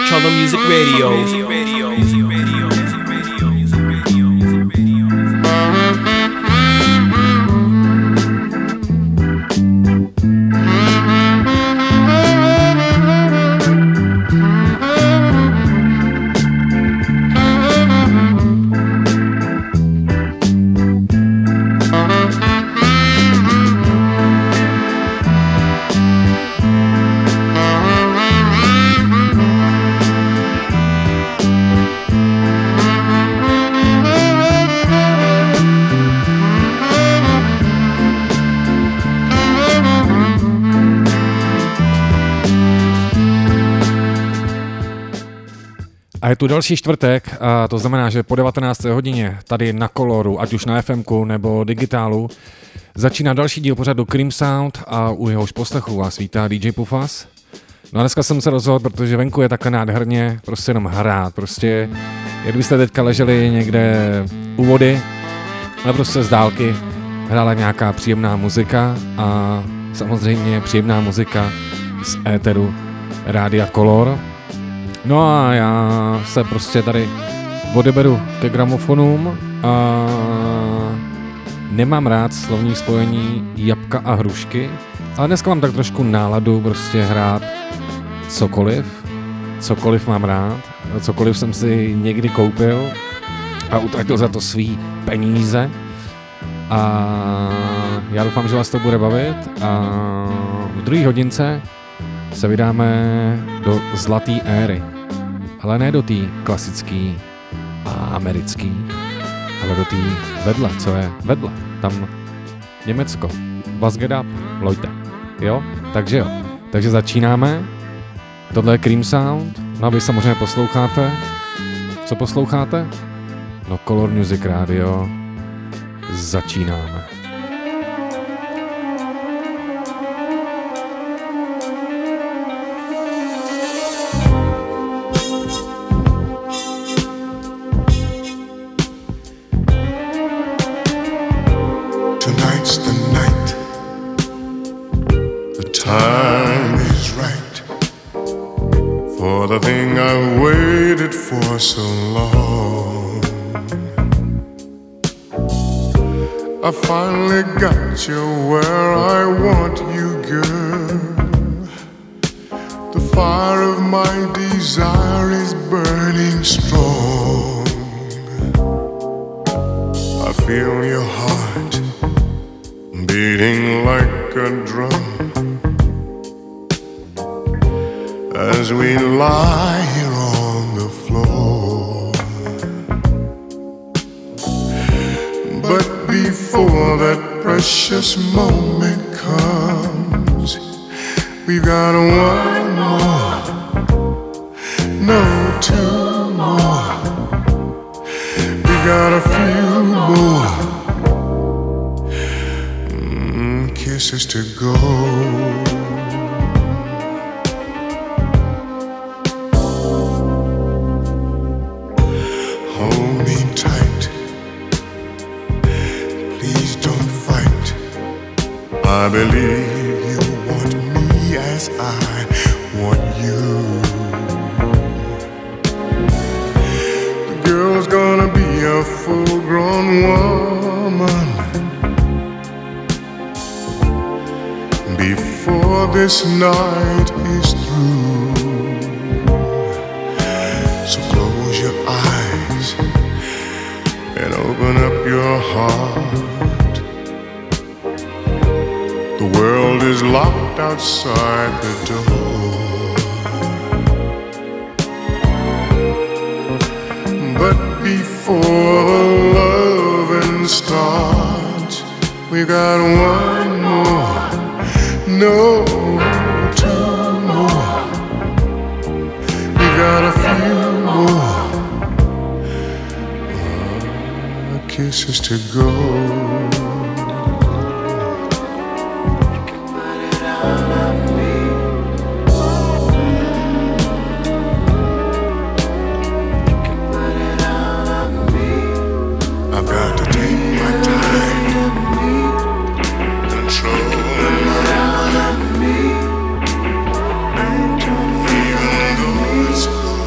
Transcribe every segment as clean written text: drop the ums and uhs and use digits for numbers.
Cholo Music Radio. A je tu další čtvrtek, a to znamená, že po 19. hodině tady na Coloru, ať už na FMku nebo digitálu, začíná další díl pořadu Cream Sound a u jehož poslechu vás vítá DJ Pufas. No a dneska jsem se rozhodl, protože venku je takhle nádherně, prostě jenom hrát, prostě jak byste teďka leželi někde u vody, ale prostě z dálky hrála nějaká příjemná muzika a samozřejmě příjemná muzika z éteru Rádia Color. No a já se prostě tady odeberu ke gramofonům a nemám rád slovní spojení jabka a hrušky, ale dneska mám tak trošku náladu prostě hrát cokoliv mám rád, cokoliv jsem si někdy koupil a utratil za to svý peníze a já doufám, že vás to bude bavit a v druhé hodince se vydáme do zlaté éry. Ale ne do té klasické a americké, ale do té vedle, co je vedle. Tam Německo. Was get up, Leute. Jo? Takže jo. Takže začínáme. Tohle je Cream Sound. No a vy samozřejmě posloucháte. Co posloucháte? No Color Music Radio. Začínáme. So long, I finally got you where I want you, girl. The fire of my desire is burning strong. I feel your heart beating like a drum as we lie here on the floor. But before that precious moment comes, we've got one more, no, two more. We've got a few more kisses to go. I believe you want me as I want you. The girl's gonna be a full-grown woman before this night is through. So close your eyes and open up your heart. The world is locked outside the door, but before loving starts, we got one more, no, two more. We got a few more kisses to go. Even though it's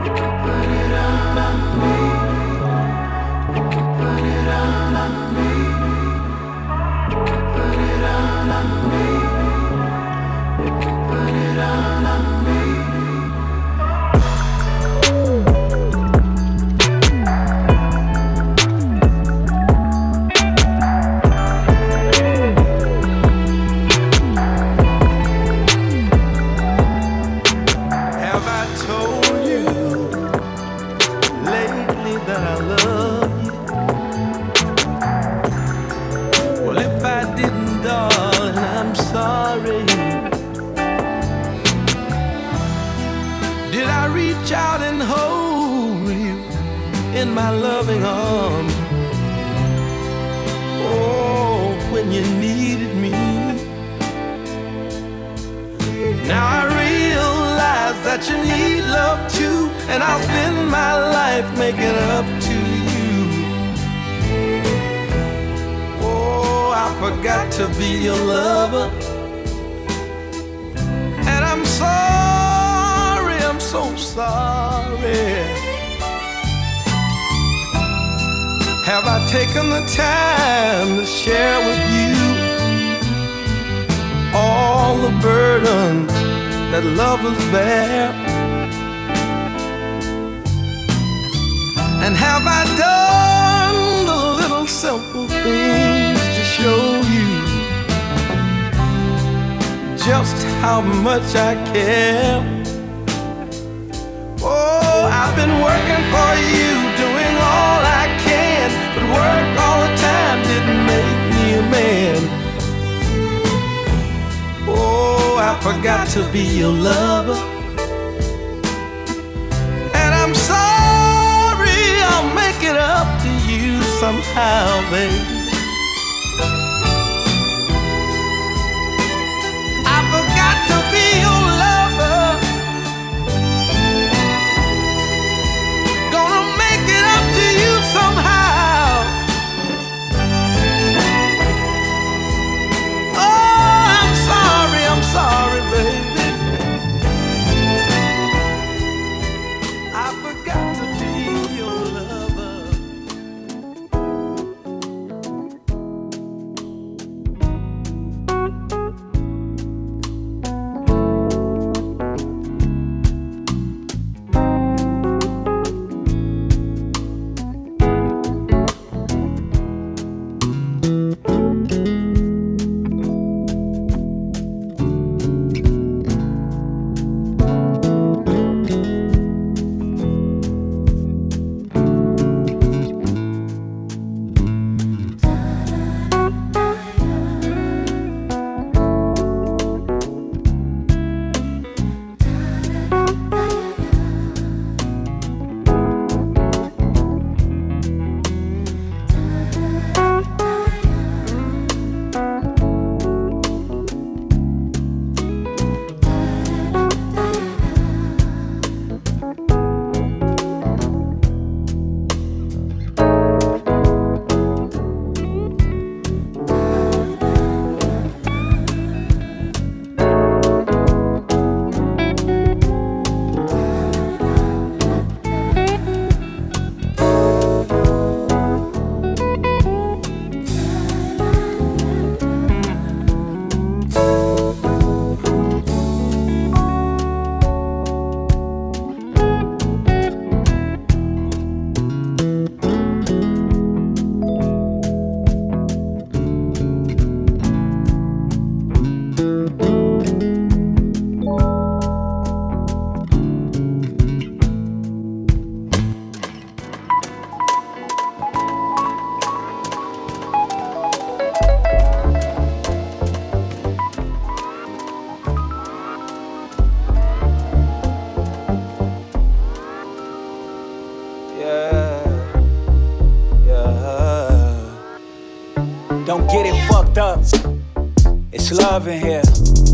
It's love in here.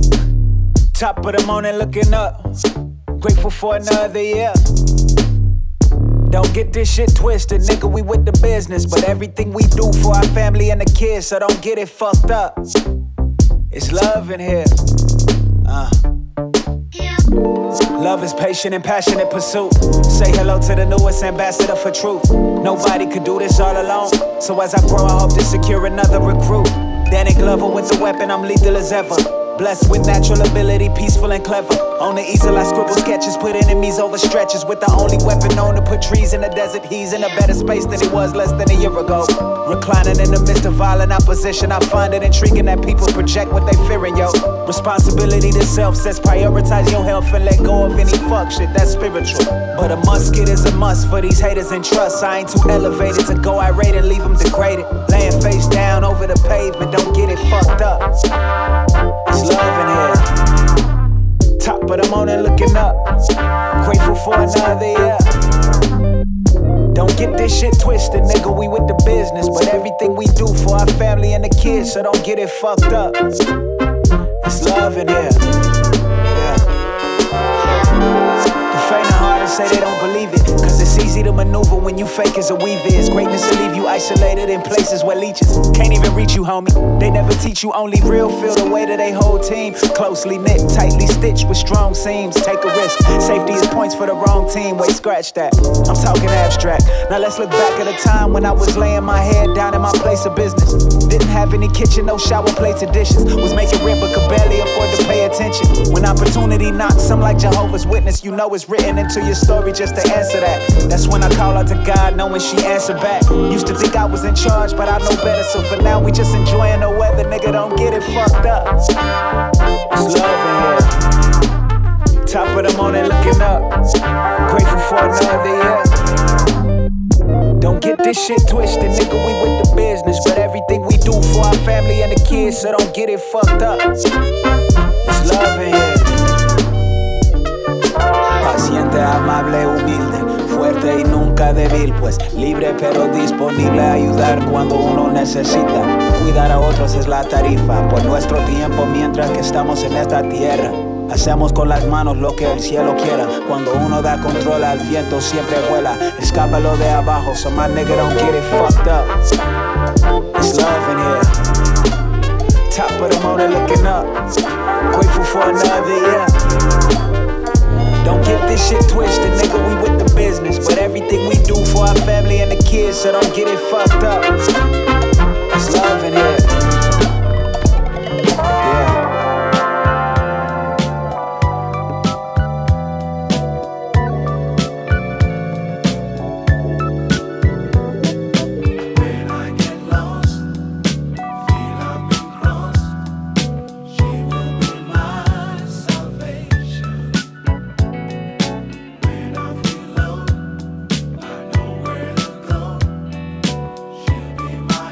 Top of the morning looking up. Grateful for another year. Don't get this shit twisted, nigga, we with the business. But everything we do for our family and the kids, so don't get it fucked up. It's love in here. Love is patient and passionate pursuit. Say hello to the newest ambassador for truth. Nobody could do this all alone. So as I grow, I hope to secure another recruit. Danny Glover with the weapon, I'm lethal as ever. Blessed with natural ability, peaceful and clever. On the easel I scribble sketches, put enemies over stretches. With the only weapon known to put trees in the desert. He's in a better space than he was less than a year ago. Reclining in the midst of violent opposition, I find it intriguing that people project what they fearing, yo. Responsibility to self says prioritize your health and let go of any fuck shit, that's spiritual. But a musket is a must for these haters and trust. I ain't too elevated to go irate and leave them degraded. Laying face down over the pavement, don't get it fucked up. It's love in here. Top of the morning looking up. Grateful for another year. Don't get this shit twisted, nigga, we with the business. But everything we do for our family and the kids, so don't get it fucked up. It's love in here. Yeah. The faint of heart say they don't believe it, cause it's easy to maneuver when you fake as a weave is. Greatness will leave you isolated in places where leeches can't even reach you, homie. They never teach you, only real feel the way that they whole team. Closely knit, tightly stitched with strong seams. Take a risk, safety is points for the wrong team. Wait, scratch that, I'm talking abstract. Now let's look back at a time when I was laying my head down in my place of business. Didn't have any kitchen, no shower plates or dishes. Was making rent but could barely afford to pay attention. When opportunity knocks, I'm like Jehovah's Witness. You know it's written into your story just to answer that. That's when I call out to God, knowing she answered back. Used to think I was in charge, but I know better. So for now, we just enjoying the weather. Nigga, don't get it fucked up. It's love in here. Top of the morning looking up. Grateful for another year. Don't get this shit twisted, nigga, we with the business. But everything we do for our family and the kids, so don't get it fucked up. It's love in here. Paciente, amable, humilde, fuerte y nunca débil, pues libre pero disponible a ayudar cuando uno necesita. Cuidar a otros es la tarifa por nuestro tiempo mientras que estamos en esta tierra. Hacemos con las manos lo que el cielo quiera. Cuando uno da control al viento siempre vuela. Escápalo de abajo, so my nigga don't get it fucked up. It's love in here. Top of the morning looking up. Grateful for another year. Don't get this shit twisted, nigga, we with the business. But everything we do for our family and the kids, so don't get it fucked up. It's love in here. Yeah. Be my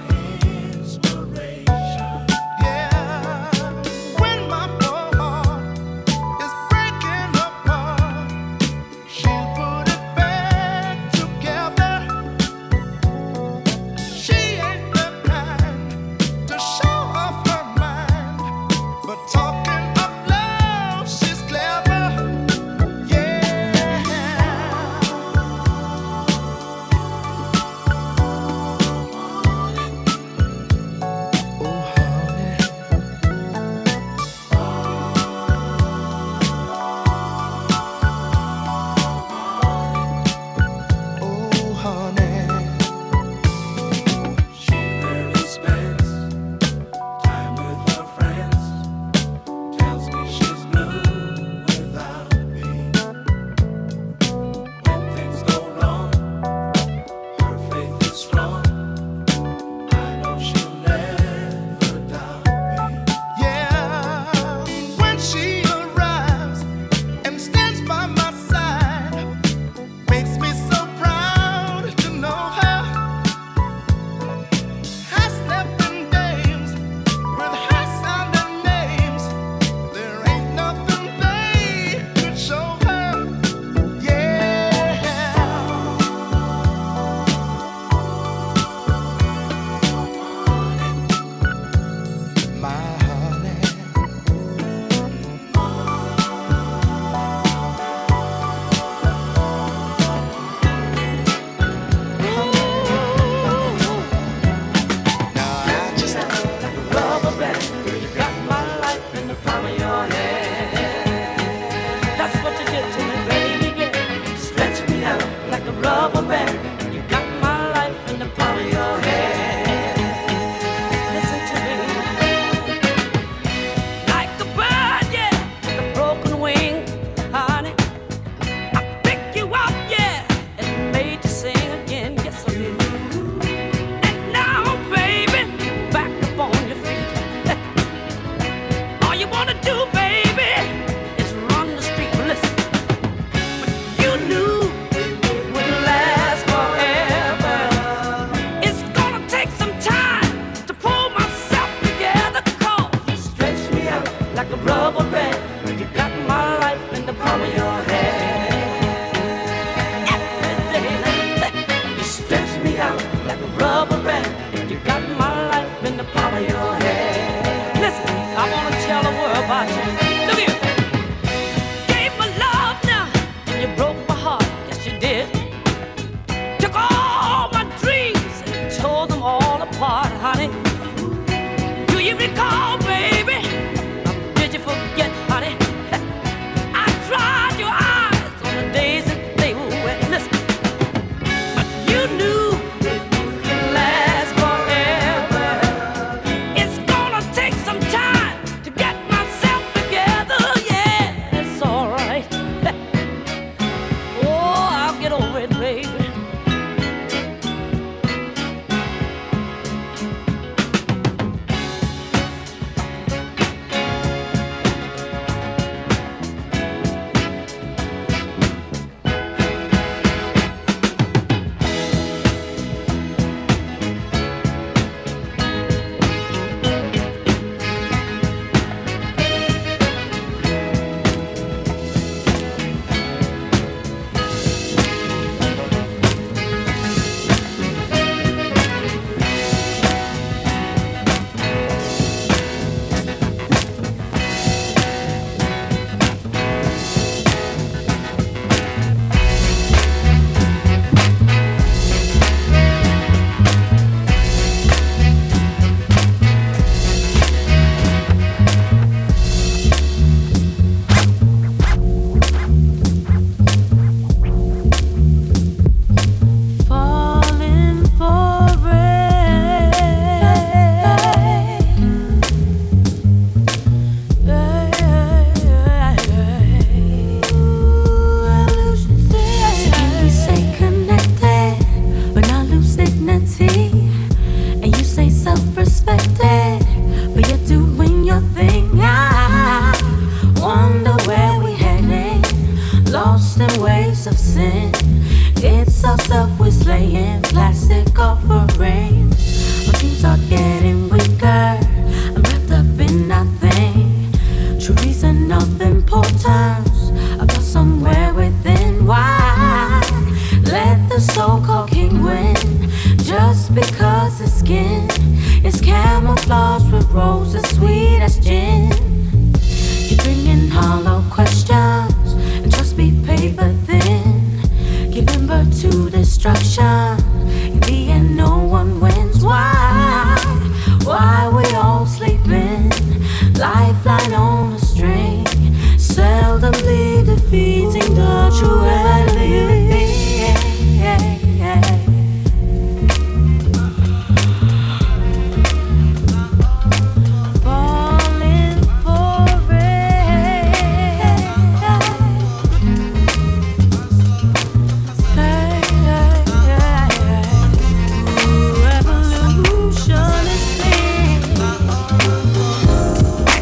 sin. It's our self-slaying plastic offerings. Our dreams are getting weaker. I'm wrapped up in nothing. True reason of importance about somewhere within. Why let the so-called king win? Just because his skin is camouflaged with roses sweet as gin. You're bringing hollow questions and just be paper thin, giving birth to destruction. In the end, no one wins. Why we all sleeping? Lifeline on a string, seldomly defeating the true enemy.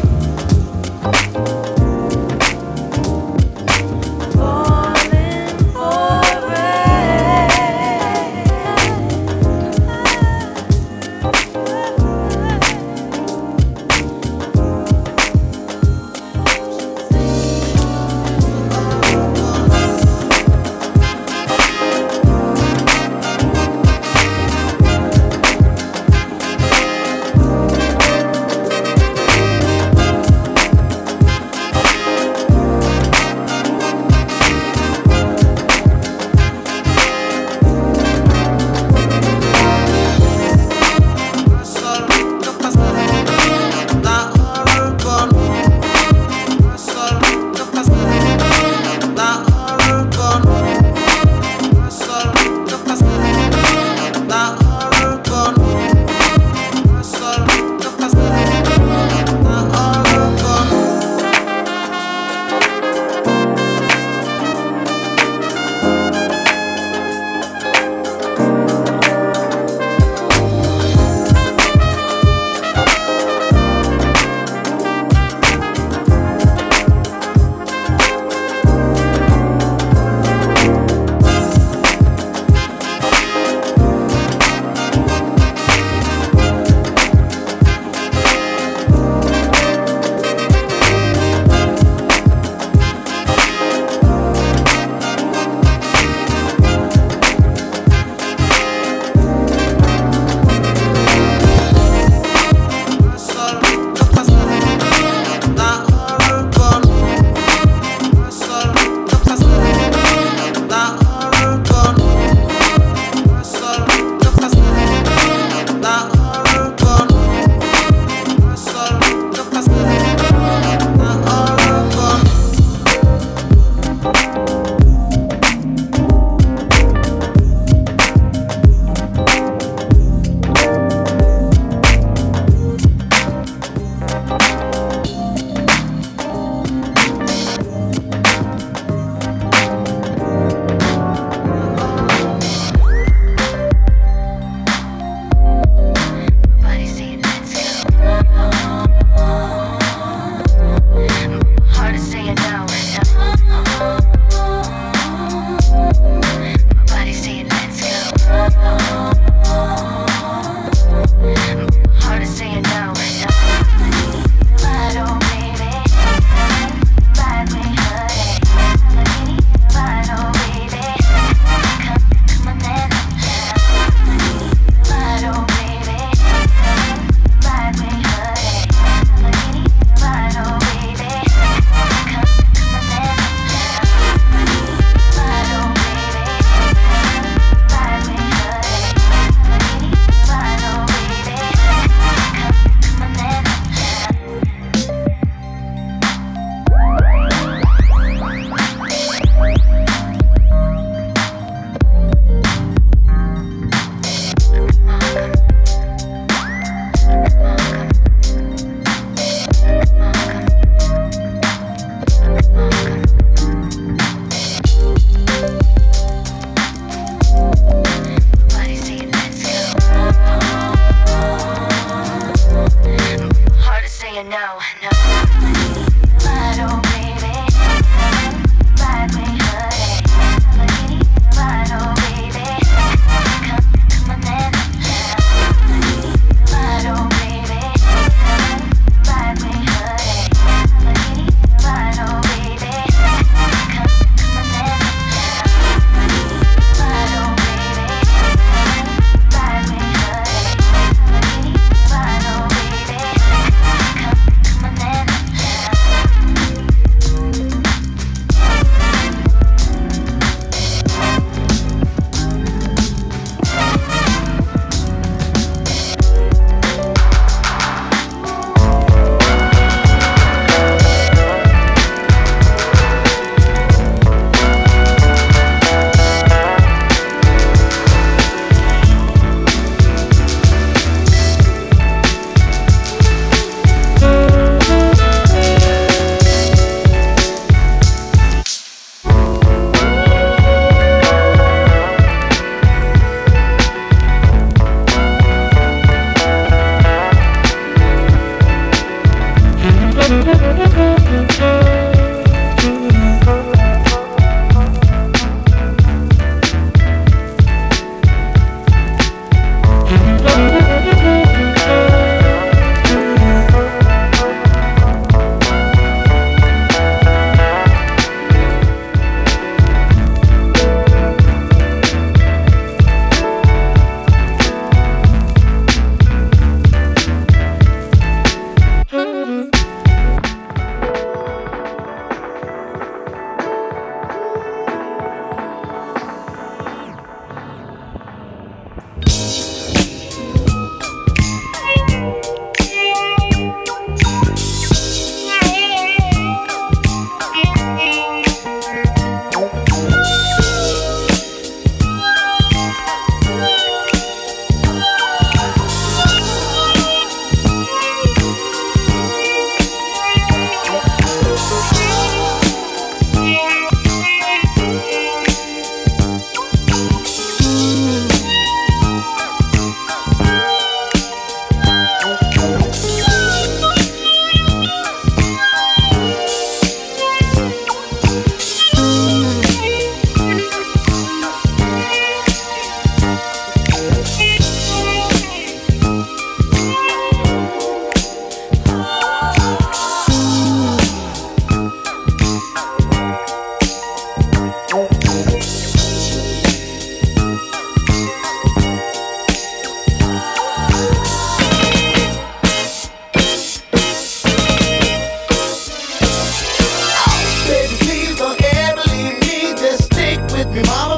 Falling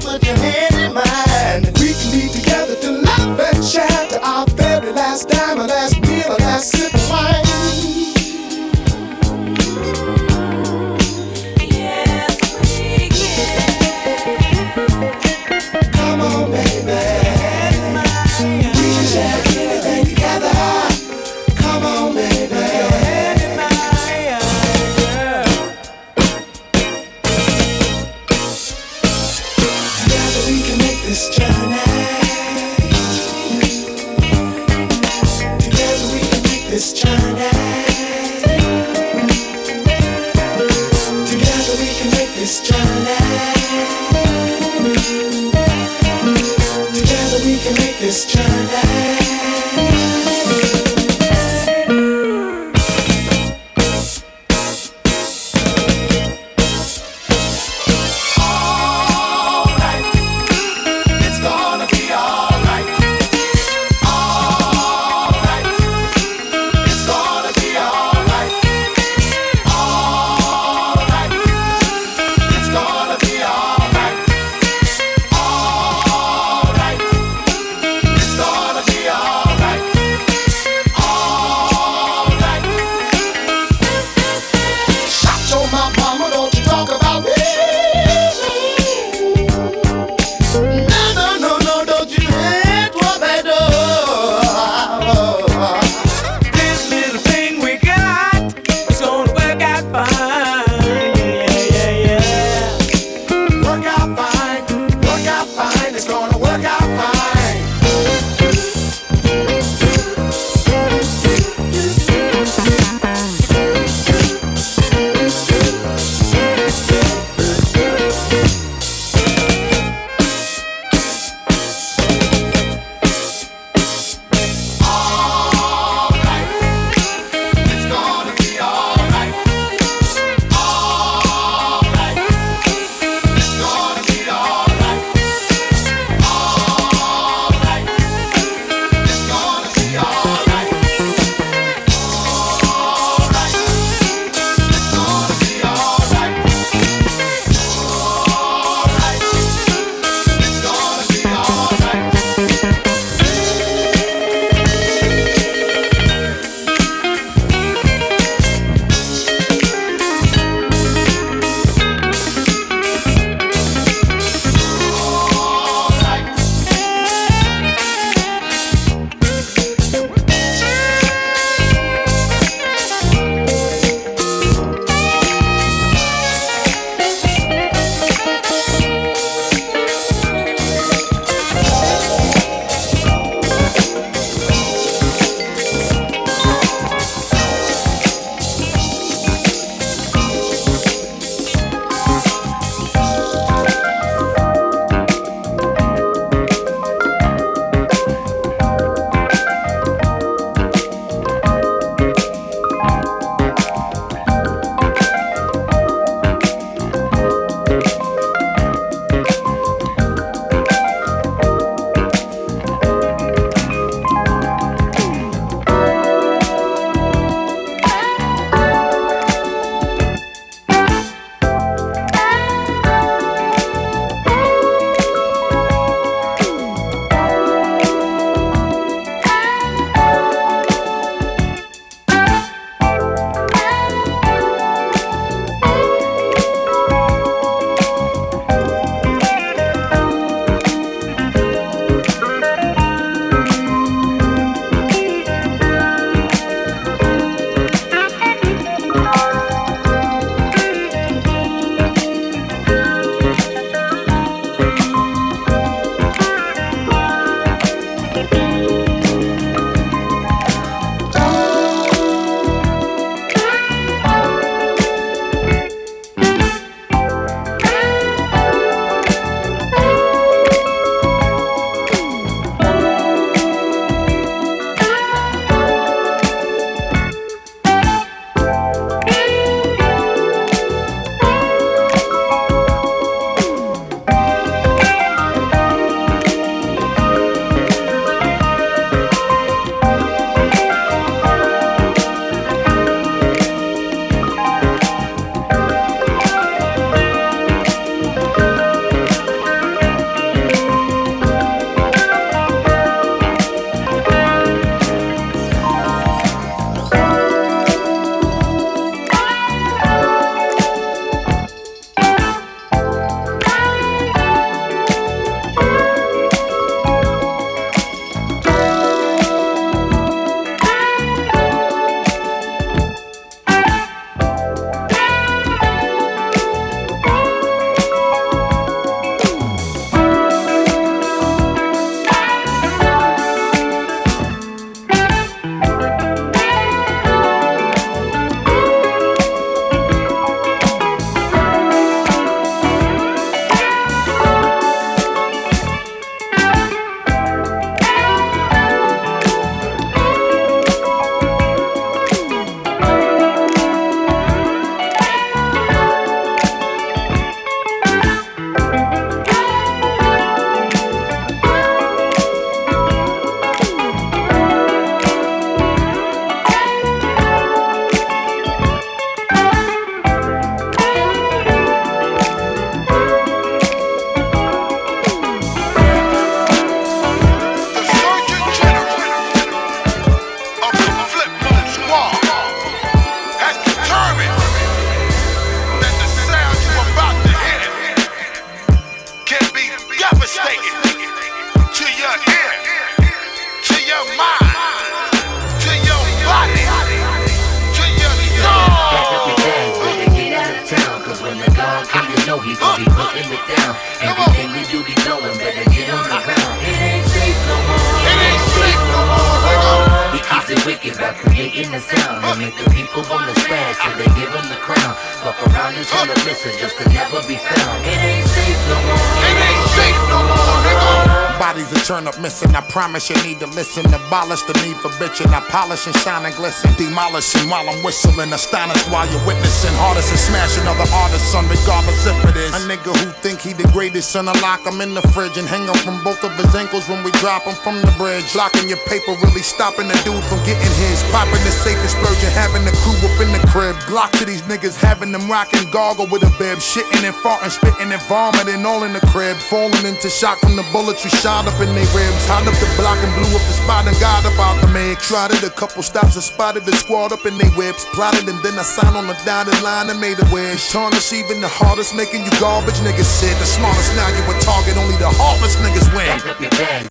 put your hand in mine. We can be together to laugh and chat to our very last dime, our last meal, our last sip of wine. This journey. devastating to your ear, to your mind, to your body, to your soul. Get out of town, cause when the God come, you know he gon' be putting it down. Everything we do be blowing, better get on the ground. It ain't safe no more. It ain't safe no more, nigga. He keeps it wicked by creating the sound and make the people wanna spaz till they give him the crown. Fuck around and tell them listen just to never be found. It ain't safe no more. It ain't safe no more, nigga. Bodies that turn up missing, I promise you need to listen. Abolish the need for bitching, I polish and shine and glisten. Demolishing while I'm whistling, astonished while you're witnessing. Hardest is smashing other artists, son, regardless if it is a nigga who think he the greatest, son. I lock him in the fridge and hang him from both of his ankles when we drop him from the bridge. Blocking your paper, really stopping the dude from getting his. Popping the safe explosion, having the crew up in the crib. Glock to these niggas, having them rocking gargle with a bib. Shitting and farting, spitting and vomiting all in the crib. Falling into shock from the bullets we shot up in their ribs. Hot up the block and blew up the spot and got up out the mix. Tried it a couple stops and spotted the squad up in their whips. Plotted and then I signed on the dotted line and made a wish. Tarnish even the hardest, making you garbage niggas sit. The smartest now you a target, only the heartless niggas win. Pack up your bag.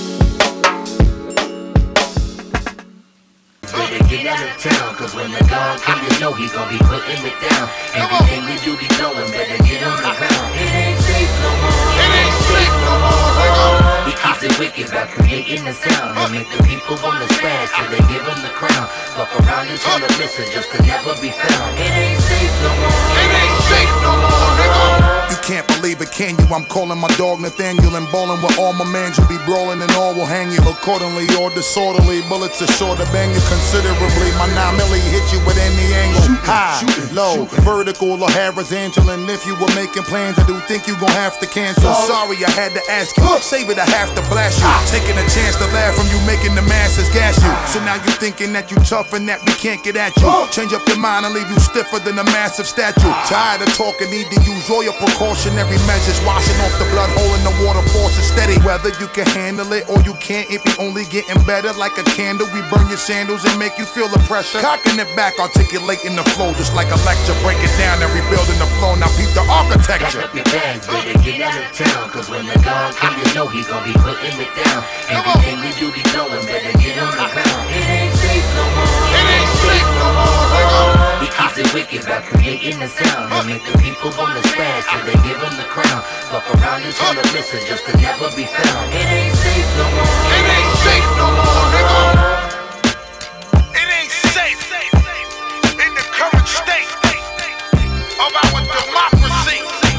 Get out of town, cause when the God come, you know he gon' be putting it down. Everything we do be blowing, better get on the ground. It ain't safe no more. It ain't safe no more, nigga. He keeps it wicked by creating the sound and make the people wanna spaz till they give him the crown. Fuck around and tell them listen just to never be found. It ain't safe no more. It ain't safe no more, nigga. You can't believe it, can you? I'm calling my dog Nathaniel and ballin' with all my mans. You'll be brawling and all will hang you accordingly or disorderly. Bullets are sure to bang you considerably. My 9 milli hit you at any angle. High, low, vertical or horizontal. And if you were making plans, I do think you gon' have to cancel. Sorry, I had to ask you. Save it, I have to blast you. Taking a chance to laugh from you, making the masses gas you. So now you thinking that you tough and that we can't get at you. Change up your mind and leave you stiffer than a massive statue. Tired of talking, need to use all your precautionary measures. Washing off the blood hole in the water, force is steady. Whether you can handle it or you can't, it be only getting better. Like a candle, we burn your sandals and make you feel the pressure. Cocking it back, articulating the flow just like a lecture. Break it down and rebuilding the flow. Now peep the architecture. Pack up your bags, better get out of town, cause when the God come, you know he gon' be putting it down. Everything we do be blowing, better get on the ground. It ain't safe no more. It ain't safe no more, nigga. He keeps it wicked by creating the sound and make the people wanna spaz till they give him the crown. Fuck around and tell them listen just to never be found. It ain't safe no more. It ain't safe no more, nigga. It ain't safe in the current state of our democracy.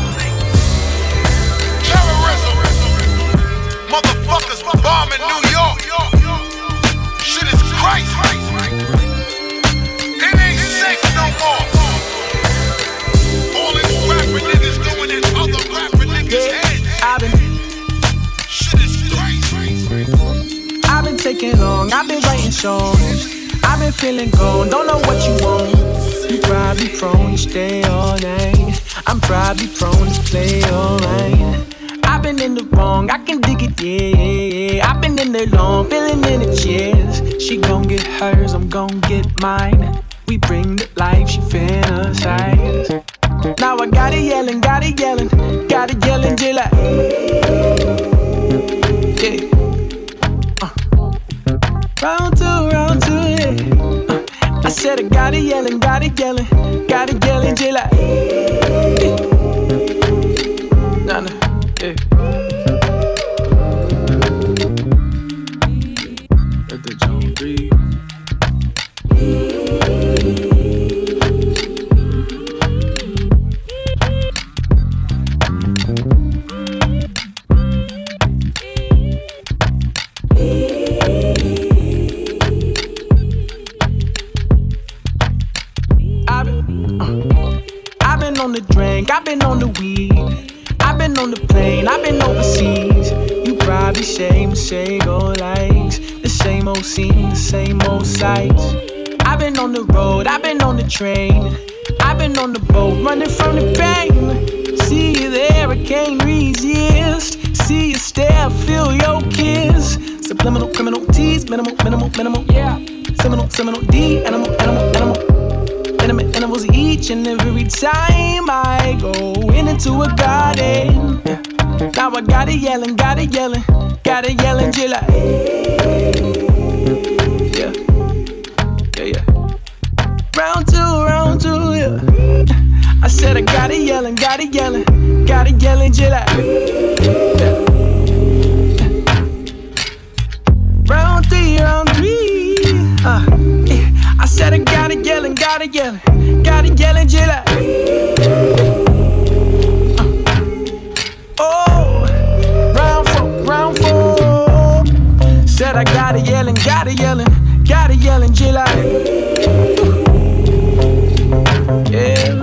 Terrorism, motherfuckers bombing New York. Shit is crazy. It ain't safe no more. All these rapping niggas doing is other rapping niggas' heads. Shit is crazy. I've been taking long, I've been writing songs. I've been feeling gone, don't know what you want. You probably prone to stay all night. I'm probably prone to play all right. I've been in the wrong, I can dig it, yeah. I've been in the long, feeling in the chairs. She gon' get hers, I'm gon' get mine. We bring the life, she fantasize. Now I got it yelling, till I yeah. Round two, yeah. I said I got it yelling, till I yeah. Nah, yeah. Let the John breathe. I've been on the drink, I've been on the weed, I've been on the plane, I've been overseas. You probably same old likes, the same old scene, the same old sights. I've been on the road, I've been on the train, I've been on the boat, running from the pain. See you there, I can't resist. See you stare, feel your kiss. Subliminal, criminal, tease, minimal, yeah. Seminal, D, animal. Intimate animals each and every time I go into a garden. Yeah. Now I got it yelling, till I. Yeah. Round two, yeah. I said I got it yelling, till I. Yeah. Round three. Yeah. I said I got it yelling, till I. Oh, round four. Said I got it yelling, till I. Yeah.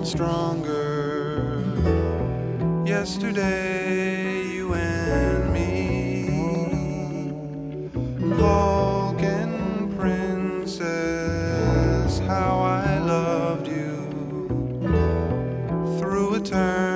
stronger. Yesterday, you and me, Vulcan princess, how I loved you through eternity.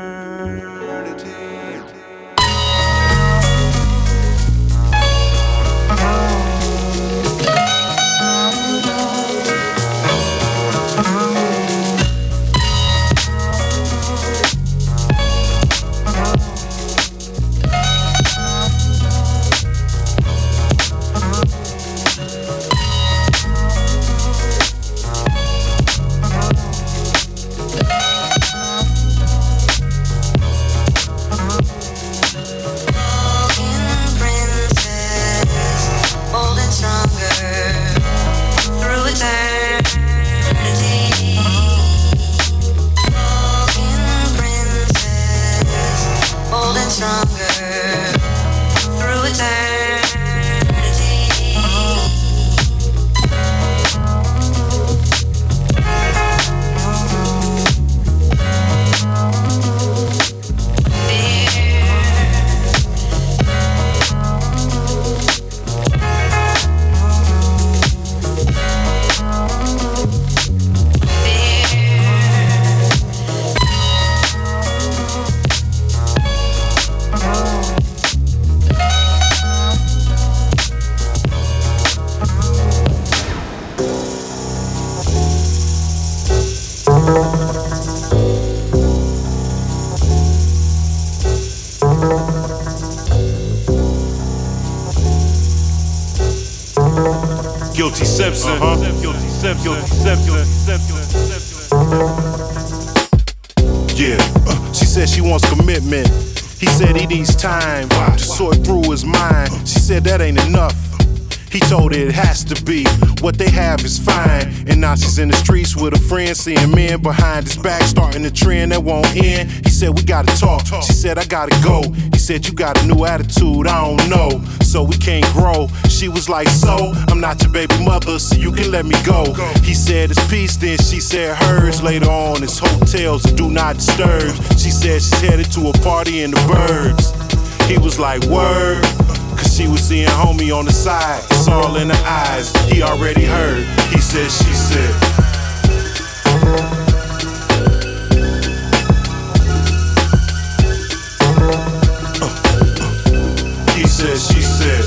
Guilty Simpson. Guilty Simpson. Yeah, she said she wants commitment. He said he needs time to sort through his mind. She said that ain't enough. He told her it has to be. What they have is fine. And now she's in the streets with a friend, seeing men behind his back, starting a trend that won't end. He said we gotta talk. She said I gotta go. He said you got a new attitude, I don't know, so we can't grow. She was like, so I'm not your baby mother, so you can let me go. He said it's peace, then she said hers. Later on it's hotels and do not disturb. She said she's headed to a party in the burbs. He was like, word, cause she was seeing homie on the side. It's all in her eyes, he already heard. He said, she said. He said, she said.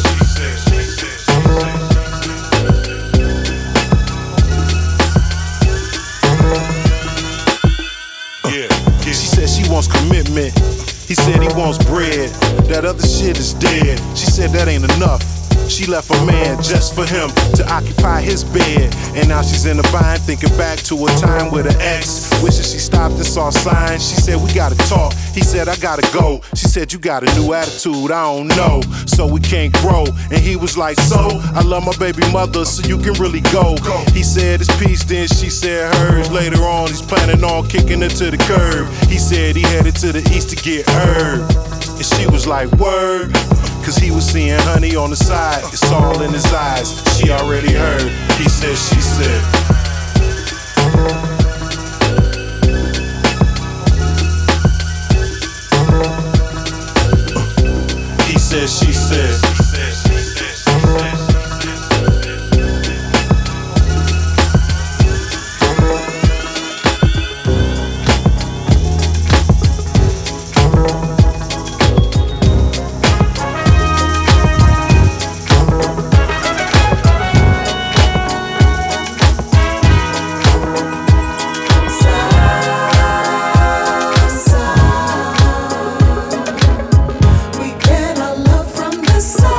Yeah, she said she wants commitment. He said he wants bread. That other shit is dead. She said that ain't enough. She left a man just for him to occupy his bed. And now she's in a bind, thinking back to a time with her ex. Wishing she stopped and saw signs. She said we gotta talk. He said I gotta go. She said you got a new attitude, I don't know, so we can't grow. And he was like, so I love my baby mother, so you can really go. He said it's peace, then she said hers. Later on he's planning on kicking her to the curb. He said he headed to the east to get herb. And she was like, word, cause he was seeing honey on the side. It's all in his eyes, she already heard. He said, she said. He said, she said. We get our love from the sun.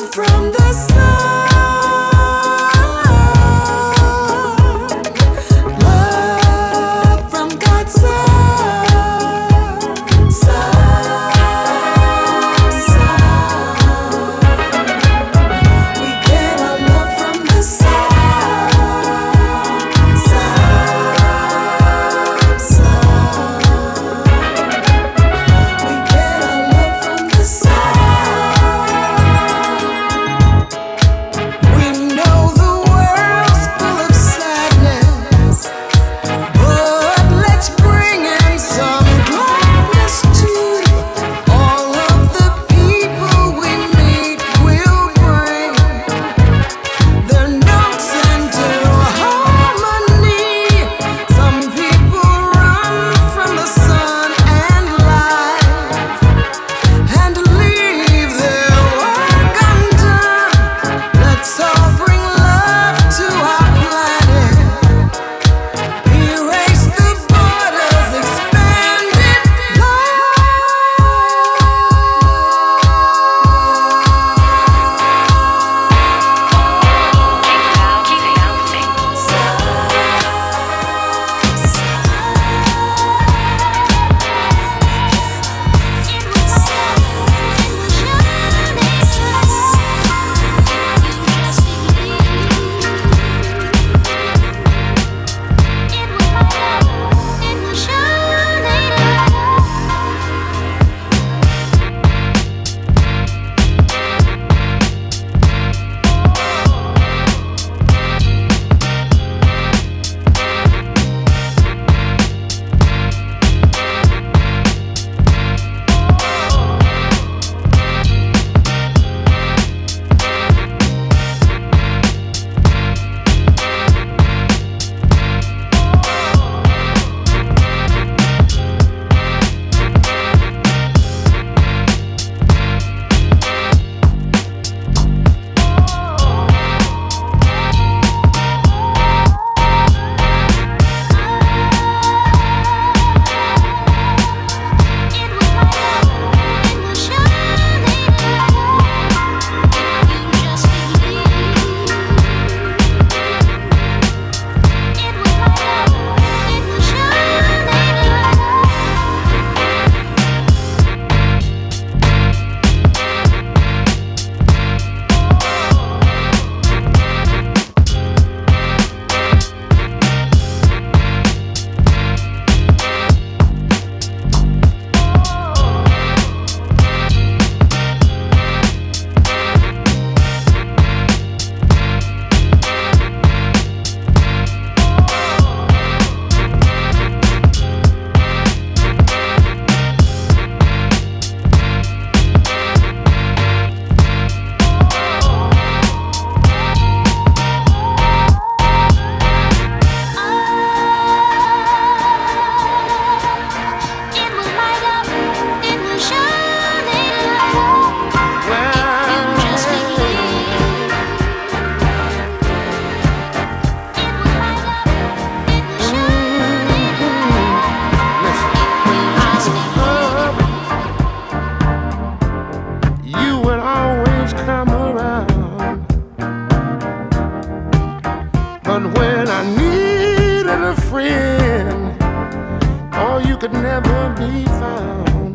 could never be found.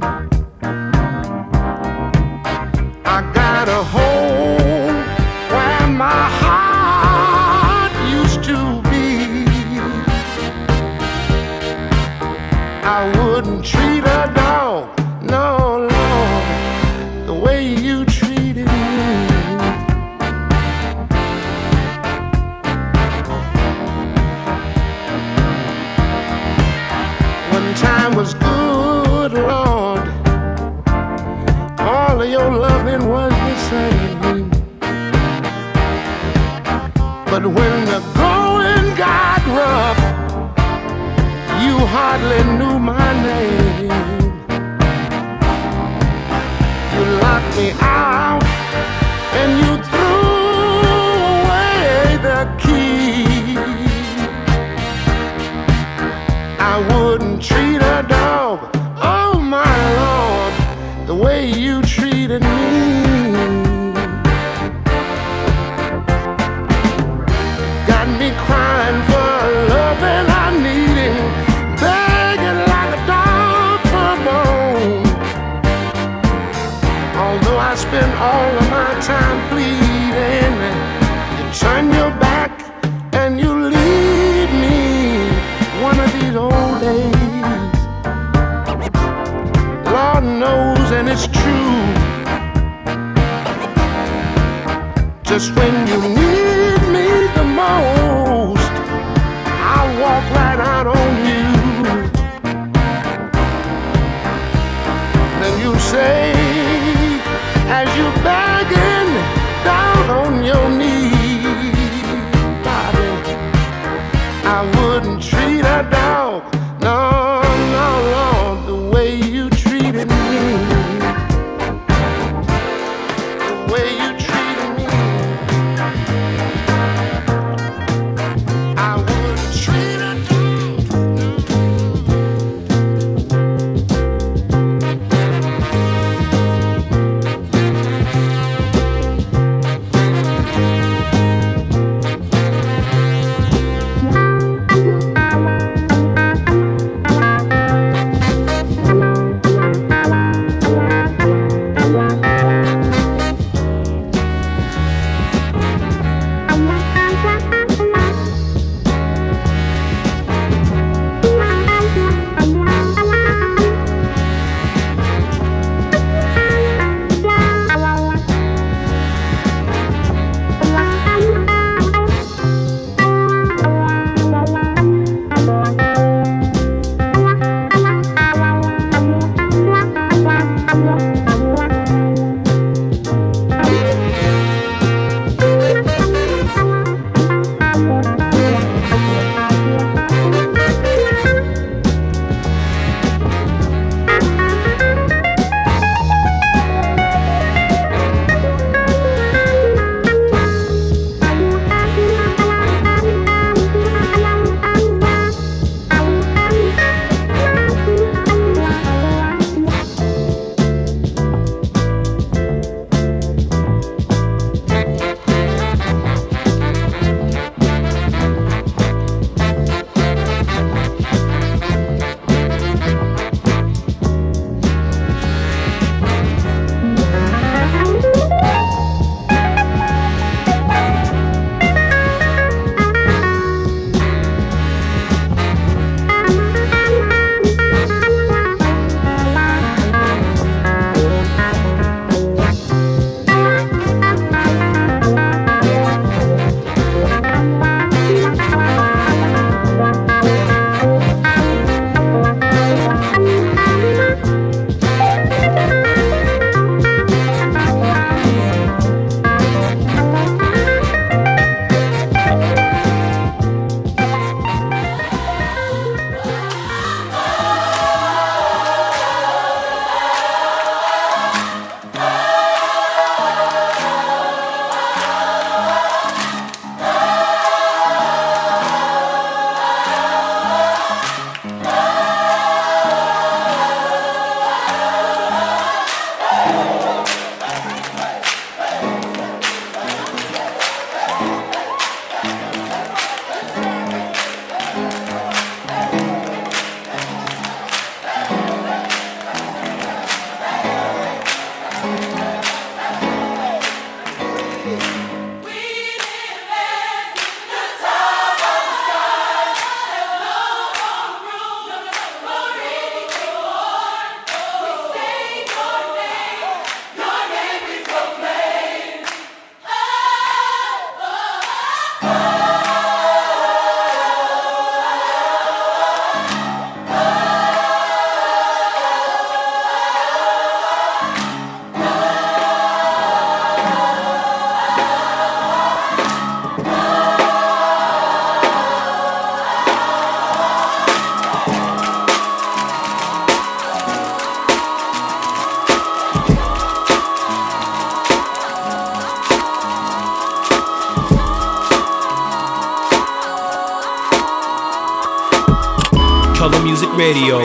I got a home where my heart used to be. I wouldn't treat a dog, no, Lord, the way you treated me. One time was good, Lord. All of your loving was the same. But when the going got rough, you hardly knew my name. You locked me out and you threw away the key. I wouldn't treat a dog, oh my Lord, the way you treated me. my time pleading. You turn your back and you leave me one of these old days. Lord knows, and it's true. Just when you need me the most, I'll walk right out on you. Then you say, as you're begging down on your knees, Bobby, I wouldn't treat a dog, no, no, no, the way you treated me. The way you treated me, I wouldn't treat a dog. Color Music Radio.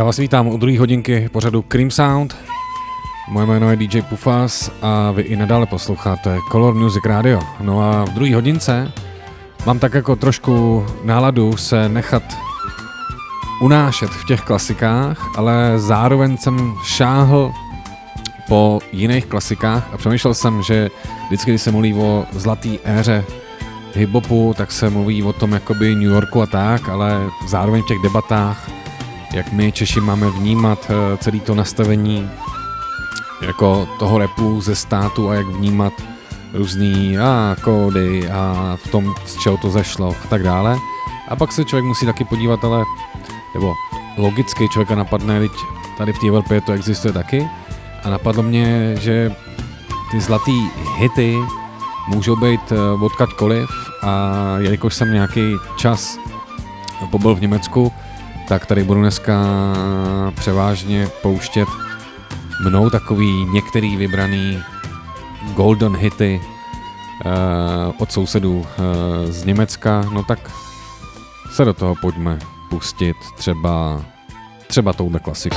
Já vás vítám u druhé hodinky pořadu Cream Sound. Moje jméno je DJ Pufas a vy i nadále posloucháte Color Music Radio. No a v druhé hodince mám tak jako trošku náladu se nechat unášet v těch klasikách, ale zároveň jsem šáhl po jiných klasikách a přemýšlel jsem, že vždycky, když se mluví o zlatý éře hip-hopu, tak se mluví o tom jakoby New Yorku a tak, ale zároveň v těch debatách, jak my Češi máme vnímat celé to nastavení jako toho rapu ze státu a jak vnímat různý kódy a v tom, z čeho to zešlo a tak dále. A pak se člověk musí taky podívat, ale nebo logicky člověka napadne, teď tady v té Evropě to existuje taky a napadlo mě, že ty zlatý hity můžou být odkaďkoliv a jelikož jsem nějaký čas pobyl v Německu, tak tady budu dneska převážně pouštět mnou takový některý vybraný golden hity od sousedů z Německa, no tak se do toho pojďme pustit třeba touhle klasikou.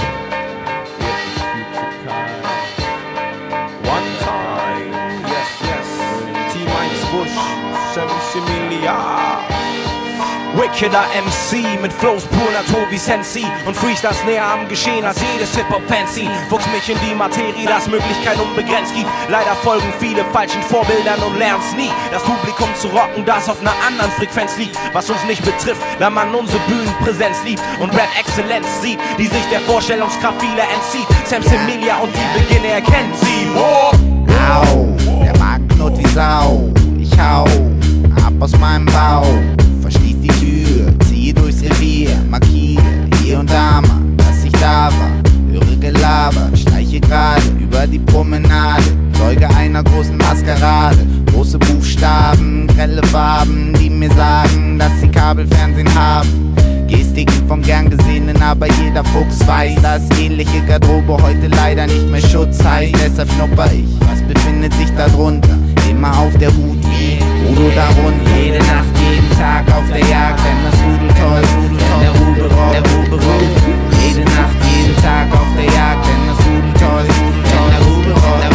Wickeder MC mit Flows pur Natur wie Sensi und Freestyles näher am Geschehen als jedes Hip-Hop-Fancy. Fuchs mich in die Materie, dass Möglichkeit unbegrenzt gibt. Leider folgen viele falschen Vorbildern und lernen's nie. Das Publikum zu rocken, das auf einer anderen Frequenz liegt. Was uns nicht betrifft, da man unsere Bühnenpräsenz liebt und Rap-Exzellenz sieht, die sich der Vorstellungskraft vieler entzieht. Sam Semilia und die Beginne erkennt sie. Oh. Au, der Magen knurrt wie Sau. Ich hau ab aus meinem Bauch. Verschließ die Tür, ziehe durchs Revier, markiere hier und da mal, dass ich da war. Höre Gelaber, schleiche gerade über die Promenade, Zeuge einer großen Maskerade. Große Buchstaben, grelle Farben, die mir sagen, dass sie Kabelfernsehen haben. Gestiken vom gern Gesehenen, aber jeder Fuchs weiß, dass ähnliche Garderobe heute leider nicht mehr Schutz heißt. Deshalb schnupper ich, was befindet sich da drunter? Immer auf der Hut wie Udo darunter. Jede Nacht, jeden Tag auf der Jagd, denn das Rudel toll, denn der Rubel rollt. Jede Nacht, jeden Tag auf der Jagd, denn das Rudel toll, denn der Rubel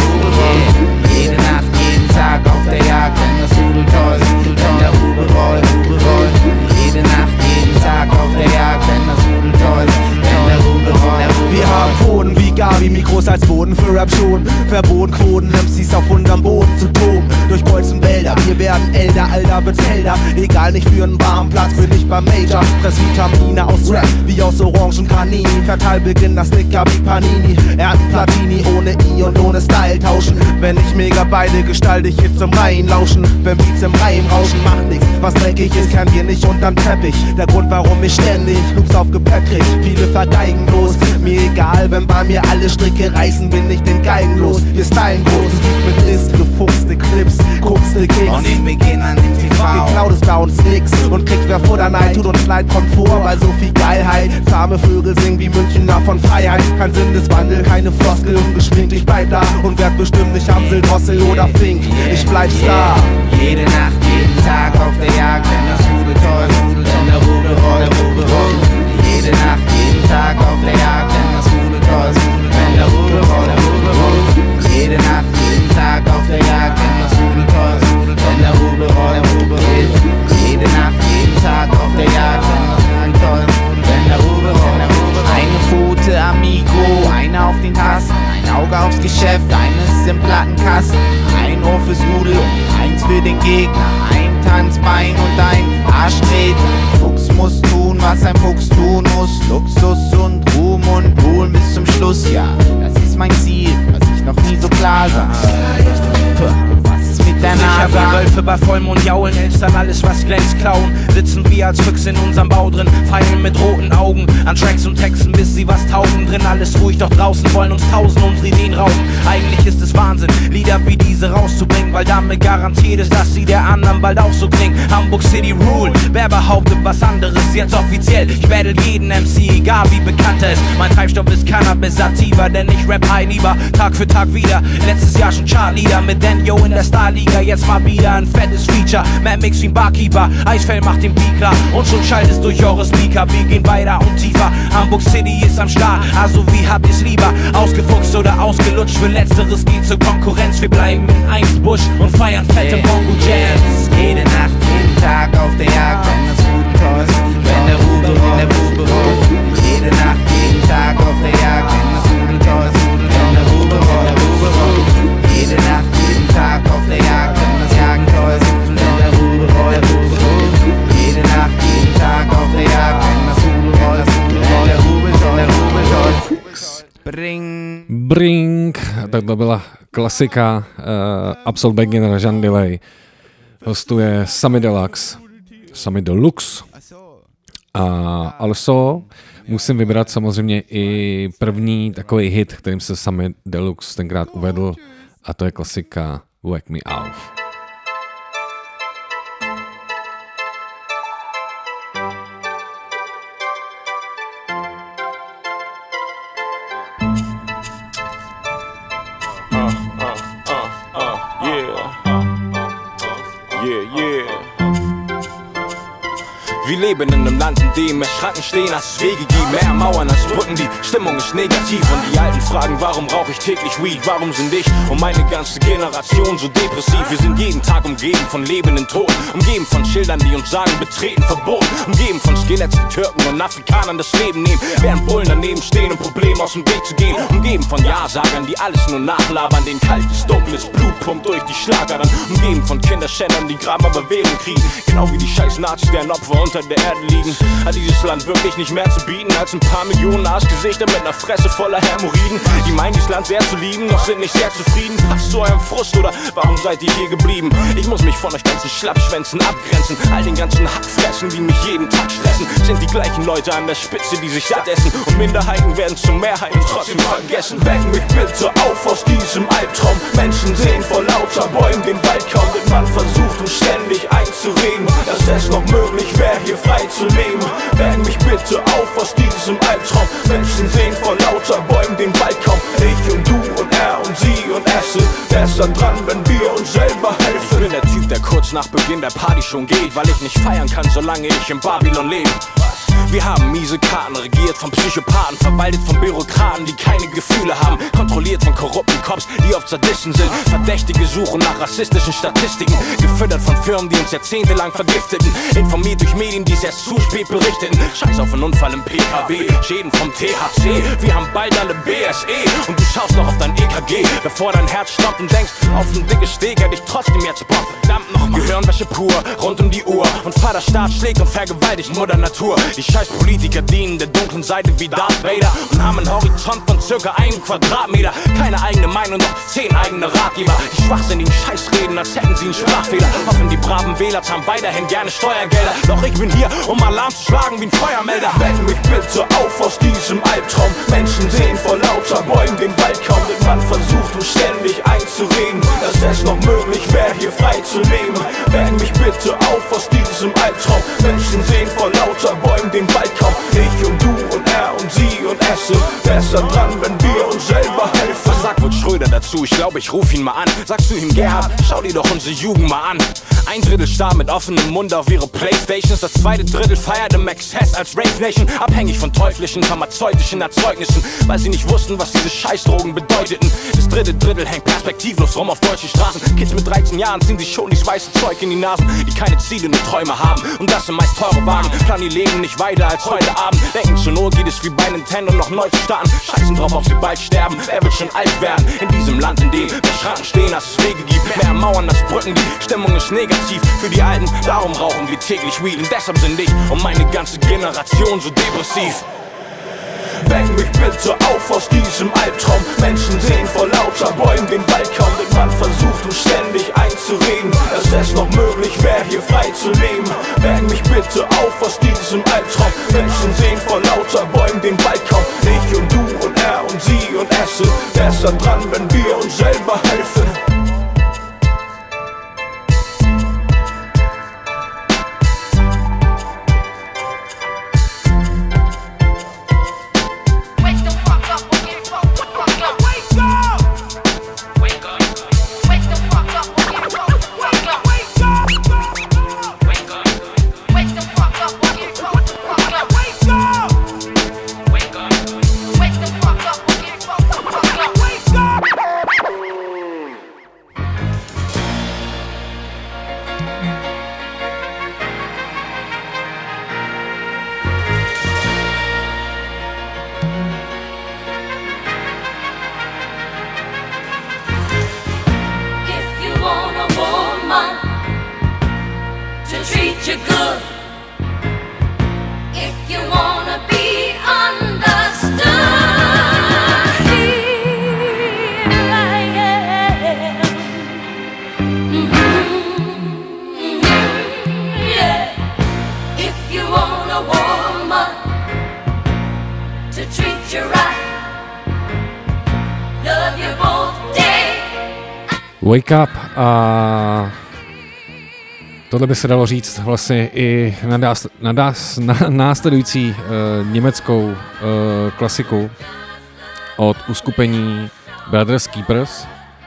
rollt. Jede Nacht, jeden Tag auf der Jagd, denn das Rudel toll, denn der Rubel rollt. Jede Nacht, jeden Tag auf der Jagd, denn das Rudel toll, denn der Rubel rollt. Wir haben Pfoten wie Gabi, Mikros als Boden für Rap schon. Verboten Quoten, MCs auf unserem Boden zu toben. Durchkreuzen Wälder, wir werden älter, Alter wird's helder. Egal, nicht für einen warmen Platz, bin ich beim Major. Fress Vitamine aus Rap, wie aus Orangen Canini. Verteil Beginn das Dicker wie Panini. Platini, ohne I und ohne Style tauschen. Wenn ich mega beide gestalte ich Hits im Reihen lauschen. Wenn Beats im Reim rauschen, macht nix. Was dreckig ist, kennen wir nicht unterm Teppich. Der Grund, warum ich ständig Loops auf Gepäck krieg. Viele vergeigen bloß, mir egal, wenn bei mir alle Stricke reißen, bin ich den Geigen los. Wir stylen groß, mit List, gefuchste Clips, guckste Kicks. Und den Beginn an dem TV. Geklaut ist bei uns nix und kriegt wer Futter Neid, tut uns leid, kommt vor, bei so viel Geilheit. Zahme Vögel singen wie Münchner von Freiheit. Kein Sinneswandel, keine Floskel, ungeschminkt, ich bleib da und werd bestimmt nicht Amsel, Drossel oder Fink. Ich bleib Star. Jede Nacht, jeden Tag auf der Jagd, denn das Rudel toll, denn der Rubel rollt. Jede Nacht, jeden Tag auf der Jagd, denn das Rudel toll, denn der Rubel rollt. Jede Nacht, jeden Tag auf der Jagd, denn das Rudel toll, denn der Rubel rollt. Jede Nacht, jeden Tag auf der Jagd, denn das Rudel toll, denn der Rubel rollt. Eine Pfote Amigo, eine auf den Tasten, ein Auge aufs Geschäft, eines im Plattenkasten, ein Ohr fürs Rudel und eins für den Gegner, ein Tanzbein und ein Arschtreter. Fuchs muss tun, was ein Fuchs tun muss, Luxus und Ruhm und Ruhen bis zum Schluss, ja, das ist mein Ziel, was ich noch nie so klar sah. Was ist mit der Sicher Nase? wie Wölfe bei Vollmond jaulen, Elstern alles was glänzt klauen. Sitzen wir als Füchse in unserem Bau drin, feilen mit roten Augen an Tracks und Texten, bis sie was taugen. Drin alles ruhig, doch draußen wollen uns tausend unsere Ideen rauben. Eigentlich ist es Wahnsinn, Lieder wie diese rauszubringen, weil damit garantiert ist, dass sie der anderen bald auch so klingen. Hamburg City Rule, wer behauptet was anderes, jetzt offiziell. Ich battle jeden MC, egal wie bekannt er ist. Mein Treibstoff ist Cannabis Sativa, denn ich rap high lieber Tag für Tag wieder. Letztes Jahr schon Chartleader mit Daniel in der Starliga. jetzt mal wieder ein fettes Feature. Mad Mix wie ein Barkeeper, Eisfell macht den Beat klar und schon schallt es durch eure Speaker. Wir gehen weiter und tiefer, Hamburg City ist am Start, also wie habt ihr's lieber? Ausgefuchst oder ausgelutscht, für Letzteres geht zur Konkurrenz. Wir bleiben in Einsbusch und feiern fette Bongo Jams. Jede Nacht, jeden Tag auf der Jagd, wenn das Rubel tost, wenn der Rubel rollt. Jede Nacht, jeden Tag auf der Jagd, wenn das Rubel tost, wenn der Rubel rollt. Jede Nacht, jeden Tag auf der Jagd, wenn das Jagen tost, wenn der Rubel rollt. Jede Nacht, jeden Tag auf der Jagd, wenn das Rubel rollt, wenn der Rubel tost. Bring, tak to byla klasika, Absol Begin, Rajan Delay. Hostuje Samy Deluxe. A also musím vybrat samozřejmě i první takový hit, kterým se Samy Deluxe tenkrát uvedl, a to je klasika Wake Me Up. Wir leben in einem Land, in dem mehr Schranken stehen, als es Wege gibt, mehr Mauern als Brücken, die Stimmung ist negativ. Und die Alten fragen, warum rauche ich täglich Weed, warum sind ich und meine ganze Generation so depressiv? Wir sind jeden Tag umgeben von lebenden Toten, umgeben von Schildern, die uns sagen, betreten verboten, umgeben von Skeletts, die Türken und Afrikanern das Leben nehmen, während Bullen daneben stehen, um Probleme aus dem Weg zu gehen, umgeben von Ja-Sagern, die alles nur nachlabern, den kaltes, dunkles Blut pumpt durch die Schlagadern, umgeben von Kinderschändern, die Graben aber Währung kriegen, genau wie die scheiß Nazis, deren Opfer unter der Erde liegen. Hat dieses Land wirklich nicht mehr zu bieten als ein paar Millionen Arschgesichter mit einer Fresse voller Hämorrhoiden? Die meinen dieses Land sehr zu lieben, doch sind nicht sehr zufrieden. Passt zu eurem Frust oder warum seid ihr hier geblieben? Ich muss mich von euch ganzen Schlappschwänzen abgrenzen. All den ganzen Hackfressen, die mich jeden Tag stressen, sind die gleichen Leute an der Spitze, die sich satt essen. Und Minderheiten werden zur Mehrheit und trotzdem vergessen. Weck mich bitte auf aus diesem Albtraum. Menschen sehen vor lauter Bäumen den Wald kaum, denn man versucht uns ständig einzureden, dass es noch möglich wäre, hier frei zu leben. Weck mich bitte auf aus diesem Albtraum. Menschen sehen vor lauter Bäumen den Wald kaum. Ich und du und er und sie und es sind besser dran, wenn wir uns selber helfen. Ich bin der Typ, der kurz nach Beginn der Party schon geht, weil ich nicht feiern kann, solange ich in Babylon lebe. Wir haben miese Karten, regiert von Psychopathen, verwaltet von Bürokraten, die keine Gefühle haben, kontrolliert von korrupten Cops, die oft Sadisten sind. Verdächtige suchen nach rassistischen Statistiken, gefüttert von Firmen, die uns jahrzehntelang vergifteten, informiert durch Medien, die es erst zu spät berichteten. Scheiß auf einen Unfall im PKW, Schäden vom THC, wir haben bald alle BSE und du schaust noch auf dein EKG, bevor dein Herz stoppt und denkst, auf ein dickes Steak hätte ich trotzdem jetzt Bock, verdammt nochmal. Gehirnwäsche pur, rund um die Uhr und Vaterstaat schlägt und vergewaltigt Mutter Natur. Die scheiß Politiker dienen der dunklen Seite wie Darth Vader und haben einen Horizont von circa 1 Quadratmeter. Keine eigene Meinung, doch 10 eigene Ratgeber. Die schwachsinnigen Scheißreden, als hätten sie einen Sprachfehler. Hoffen die braven Wähler zahlen weiterhin gerne Steuergelder. Doch ich bin hier, um Alarm zu schlagen wie ein Feuermelder. Weck mich bitte auf aus diesem Albtraum. Menschen sehen vor lauter Bäumen den Wald kaum, denn man versucht uns ständig einzureden, dass es noch möglich wäre, hier frei zu leben. Weck mich bitte auf aus diesem Albtraum. Menschen sehen vor lauter Bäumen den Wald kaum. Ich und du und er und sie und es sind besser dran, wenn wir uns selber helfen. Was sagt wohl Schröder dazu? Ich glaube, ich ruf ihn mal an. Sagst du ihm, Gerhard, schau dir doch unsere Jugend mal an. 1/3 starr mit offenem Mund auf ihre Playstations. Das 2. Drittel feierte Max Hess als Rave Nation. Abhängig von teuflischen, pharmazeutischen Erzeugnissen, weil sie nicht wussten, was diese Scheißdrogen bedeuteten. Das 3. Drittel hängt perspektivlos rum auf deutschen Straßen. Kids mit 13 Jahren ziehen sich schon die weiße Zeug in die Nasen, die keine Ziele, nur Träume haben. Und das sind meist teure Wagen. Planen ihr Leben nicht weiter als heute Abend. Denken zur Not geht es wie bei Nintendo noch neu zu starten. Scheißen drauf, ob sie bald sterben. Wer wird schon alt werden? In diesem Land, in dem mehr Schranken stehen, als es Wege gibt. Mehr Mauern als Brücken, die Stimmung ist negativ für die Alten. Darum rauchen wir täglich Weed. Und deshalb sind ich und meine ganze Generation so depressiv. Weck mich bitte auf aus diesem Albtraum. Menschen sehen vor lauter Bäumen den Wald kaum, denn man versucht uns ständig einzureden, dass es noch möglich wäre, hier frei zu leben. Weck mich bitte auf aus diesem Albtraum. Menschen sehen vor lauter Bäumen den Wald kaum. Ich und du und er und sie und es sind besser dran, wenn wir uns selber helfen. Wake Up a tohle by se dalo říct vlastně i na následující německou klasiku od uskupení Brothers Keepers,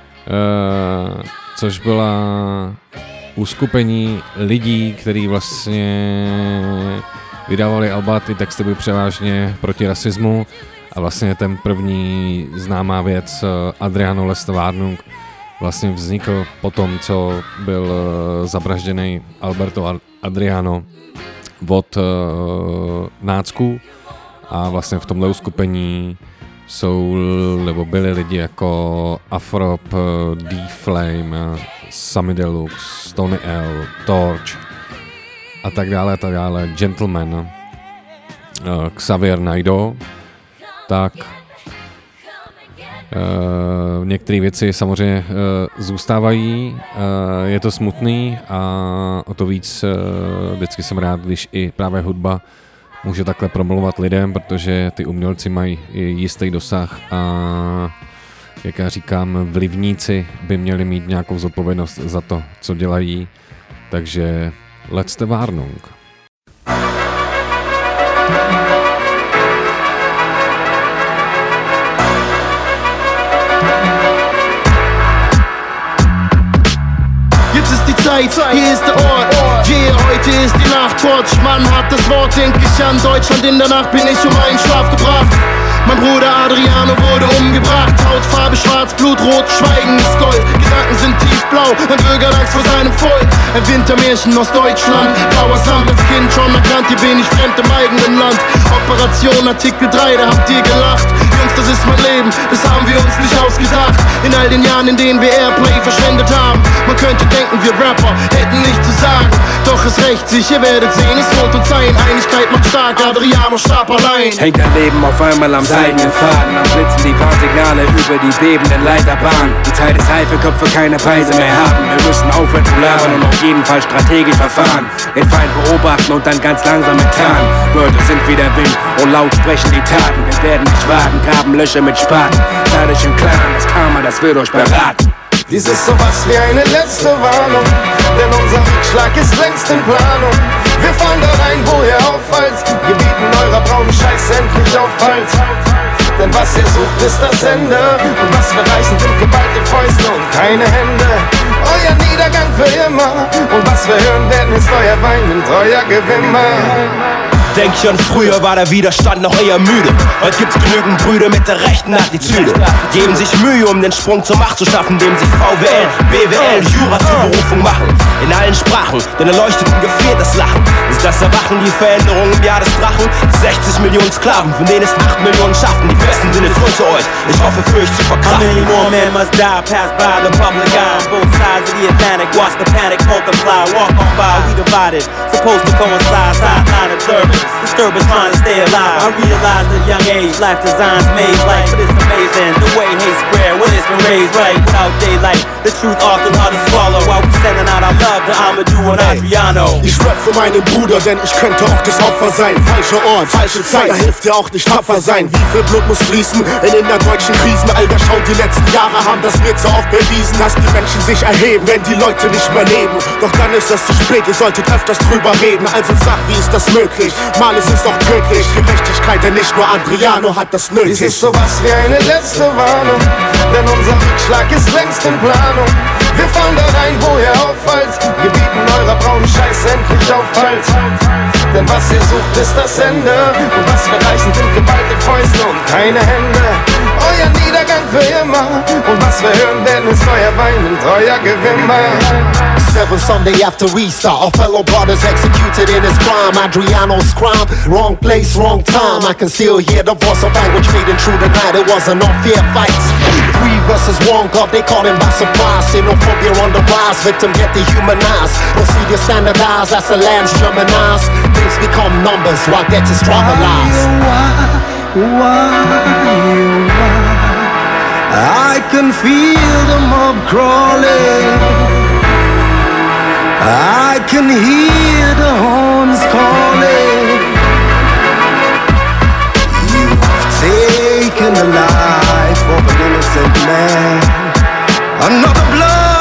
což byla uskupení lidí, kteří vlastně vydávali alba, ty texty byly převážně proti rasismu a vlastně ten první známá věc Adriano Lestwarnung vlastně vznikl po tom, co byl zavražděný Alberto Adriano od nácků a vlastně v tomhle uskupení byli lidi jako Afrop, D-Flame, Sammy Deluxe, Tony L, Torch a tak dále, Gentleman, Xavier Naidoo, tak některé věci samozřejmě zůstávají, je to smutný a o to víc vždycky jsem rád, když i právě hudba může takhle promluvat lidem, protože ty umělci mají jistý dosah a jak já říkám, vlivníci by měli mít nějakou zodpovědnost za to, co dělají, takže Lestwarnung. Hier ist der Ort, yeah, heute ist die Nacht. Torch, Mann hat das Wort, denk ich an Deutschland. In der Nacht bin ich einen Schlaf gebracht. Mein Bruder Adriano wurde umgebracht. Hautfarbe schwarz, Blutrot, Schweigen ist Gold. Gedanken sind tiefblau, ein Bürger Angst vor seinem Volk. Ein Wintermärchen aus Deutschland, blauer Sand. Als Kind schon erkannt, hier bin ich fremd im eigenen Land. Operation Artikel 3, da habt ihr gelacht. Jungs, das ist mein Leben, das haben wir uns nicht ausgedacht. In all den Jahren, in denen wir Airplay verschwendet haben. Man könnte denken, wir Rapper hätten nichts zu sagen. Doch es rächt sich, ihr werdet sehen, es wird uns sein. Einigkeit macht stark, Adriano starb allein. Hängt dein Leben auf einmal am seidenen Faden. Am Blitzen die Warnsignale über die bebenden Leiterbahnen. Die Zeit ist reif, für Köpfe keine Preise mehr haben. Wir müssen aufhören zu labern und auf jeden Fall strategisch verfahren. Den Feind beobachten und dann ganz langsam enttarnen. Wörter sind wie der Wind und laut sprechen die Taten. Wir werden nicht warten, graben Löcher mit Spaten. Seid euch im Klaren, das Karma, das wird euch beraten. Dies ist sowas wie eine letzte Warnung, denn unser Rückschlag ist längst in Planung. Wir fahren da rein, wo ihr auffallt, gebieten eurer braunen Scheiß endlich Aufhalt. Denn was ihr sucht, ist das Ende, und was wir reichen, sind geballte Fäuste und keine Hände. Euer Niedergang für immer, und was wir hören werden, ist euer Wein und euer Gewimmer. Denk schon, früher war der Widerstand noch eher müde. Heute gibt's genügend Brüder mit der rechten Attitüde. Geben sich Mühe, um den Sprung zur Macht zu schaffen, indem sie VWL, BWL, Jura zur Berufung machen. In allen Sprachen, den Erleuchteten gefehlt das Lachen. Ist das Erwachen die Veränderung im Jahr des Drachen? 60 Millionen Sklaven, von denen es 8 Millionen schaffen. Die Besten sind jetzt zu euch, ich hoffe für euch zu verkraften. How many more men must die, pass by the public eye? On both sides of the Atlantic, watch the panic multiply. Walk on by, we divided, supposed to coincide, sideline observance. Disturbance trying to stay alive. I realized at a young age, life designs made life, but it's amazing the way hate spread when it's been raised right. Without daylight, the truth often hard to swallow. While we sending out our love to Amadou und Adriano. Ich rap für meinen Bruder, denn ich könnte auch das Opfer sein. Falscher Ort, falsche Zeit, da hilft dir auch nicht tapfer sein. Wie viel Blut muss fließen in innerdeutschen Krisen? Alter, schau, die letzten Jahre haben das mir zu oft bewiesen, dass die Menschen sich erheben, wenn die Leute nicht mehr leben. Doch dann ist es zu spät, ihr solltet öfters drüber reden. Also sag, wie ist das möglich? Mal ist es doch tödlich, Gerechtigkeit, denn nicht nur Adriano hat das nötig. Dies ist sowas wie eine letzte Warnung, denn unser Rückschlag ist längst in Planung. Wir fahren da rein, wo ihr auffallt, gebieten eurer braunen Scheiß endlich Aufhalt. Denn was ihr sucht, ist das Ende, und was wir reichen, sind geballte Fäuste und keine Hände. Euer Niedergang für immer, und was wir hören werden, ist euer Wein und euer Gewimmer. 7 Sunday after restart, our fellow brothers executed in his crime. Adriano's crime, wrong place, wrong time. I can still hear the voice of language fading through the night. It was an unfair fight. 3 versus 1, God, they caught him by surprise. Xenophobia on the rise, victim get dehumanized. Procedure standardized as the lands Germanized. Things become numbers while death is trivialized. Why? I can feel the mob crawling. I can hear the horns calling. You've taken the life of an innocent man. Another blood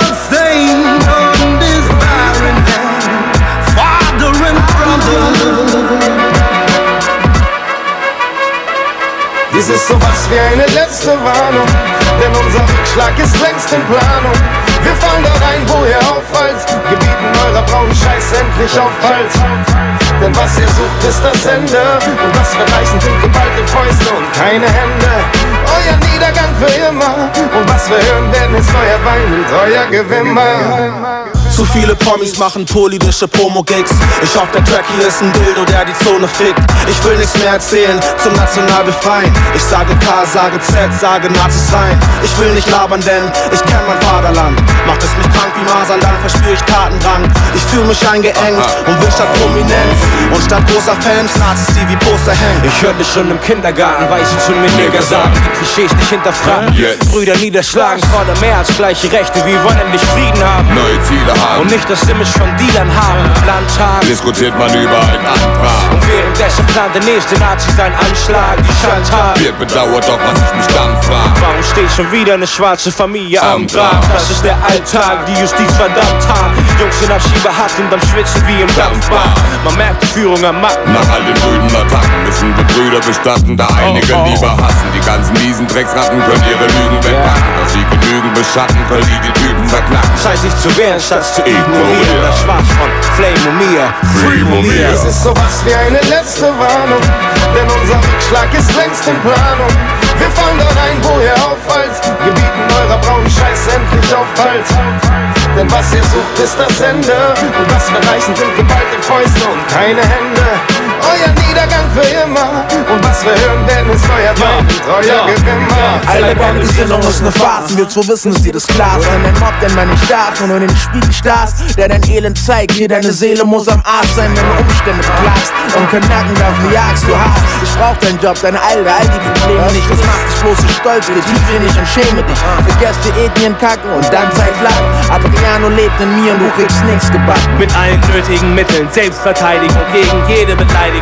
Dies ist sowas wie eine letzte Warnung, denn unser Rückschlag ist längst in Planung. Wir fallen da rein, wo ihr auffallt, gebieten eurer braunen Scheiß endlich Aufhalt. Denn was ihr sucht, ist das Ende, und was wir reichen, sind geballte Fäuste und keine Hände. Euer Niedergang für immer, und was wir hören werden, ist euer Wein und euer Gewimmer. Zu viele Promis machen politische Promo-Gigs. Ich hoffe, der Track hier ist ein Dildo, der die Zone fickt. Ich will nichts mehr erzählen, zum national befreien. Ich sage K, sage Z, sage Nazis sein. Ich will nicht labern, denn ich kenn mein Vaterland. Macht es mich krank wie Masern, dann verspür ich Tatendrang. Ich fühl mich eingeengt und will statt Prominenz und statt großer Fans Nazis, die wie Poster hängen. Ich hörte schon im Kindergarten, weiß ich schon mit Nigger sagen. Die Klischees nicht hinterfragen, Brüder niederschlagen, fordern mehr als gleiche Rechte. Wir wollen endlich Frieden haben, neue Ziele haben und nicht das Image von Dealern haben. Landtag diskutiert man über einen Antrag, und währenddessen plant der nächste Nazi seinen Anschlag. Die Chantal wird bedauert, doch was ich mich dann frag: warum steht schon wieder eine schwarze Familie am Grab? Das ist der Alltag, die Justiz verdammt hart. Jungs in Abschiebehaft und am Schwitzen wie im Dampfbad. Man merkt die Führung am Macken. Nach all den blöden Attacken müssen wir Brüder bestatten, da einige lieber hassen. Die ganzen miesen Drecksratten können ihre Lügen wegpacken. Dass sie genügen beschatten, können die Typen verknacken. Scheiß sich zu wehren, statt zu ignorieren. Das Schwarz von Flame und mir, Free Mumia. Es ist sowas wie eine letzte Warnung, denn unser Rückschlag ist längst in Planung. Wir fallen dort ein, wo ihr auffallt, gebieten eurer braunen Scheiß endlich Aufhalt. Denn was ihr sucht, ist das Ende, und was wir reichen, sind geballte Fäuste und keine Hände. Euer Niedergang für immer, und was wir hören werden, ist euer Wein und euer Gewimmer. Alle deine Gesinnung ist ne Farce, wir zu wissen, ist dir das klar. Wenn dein Mob denn mal nicht da ist und du in den Spiegel starrst, der dein Elend zeigt, dir deine Seele muss am Arsch sein, wenn du Umstände plagst und kein Nacken dafür jagst du hast. Ich brauch deinen Job, deine Alter, all die Probleme nicht. Das macht dich bloß so stolz, geh tief in dich und schäme dich. Vergesst die Ethnien kacken und dann Zeit flacken. Adriano lebt in mir und du kriegst nichts gebacken. Mit allen nötigen Mitteln, Selbstverteidigung gegen jede Beleidigung.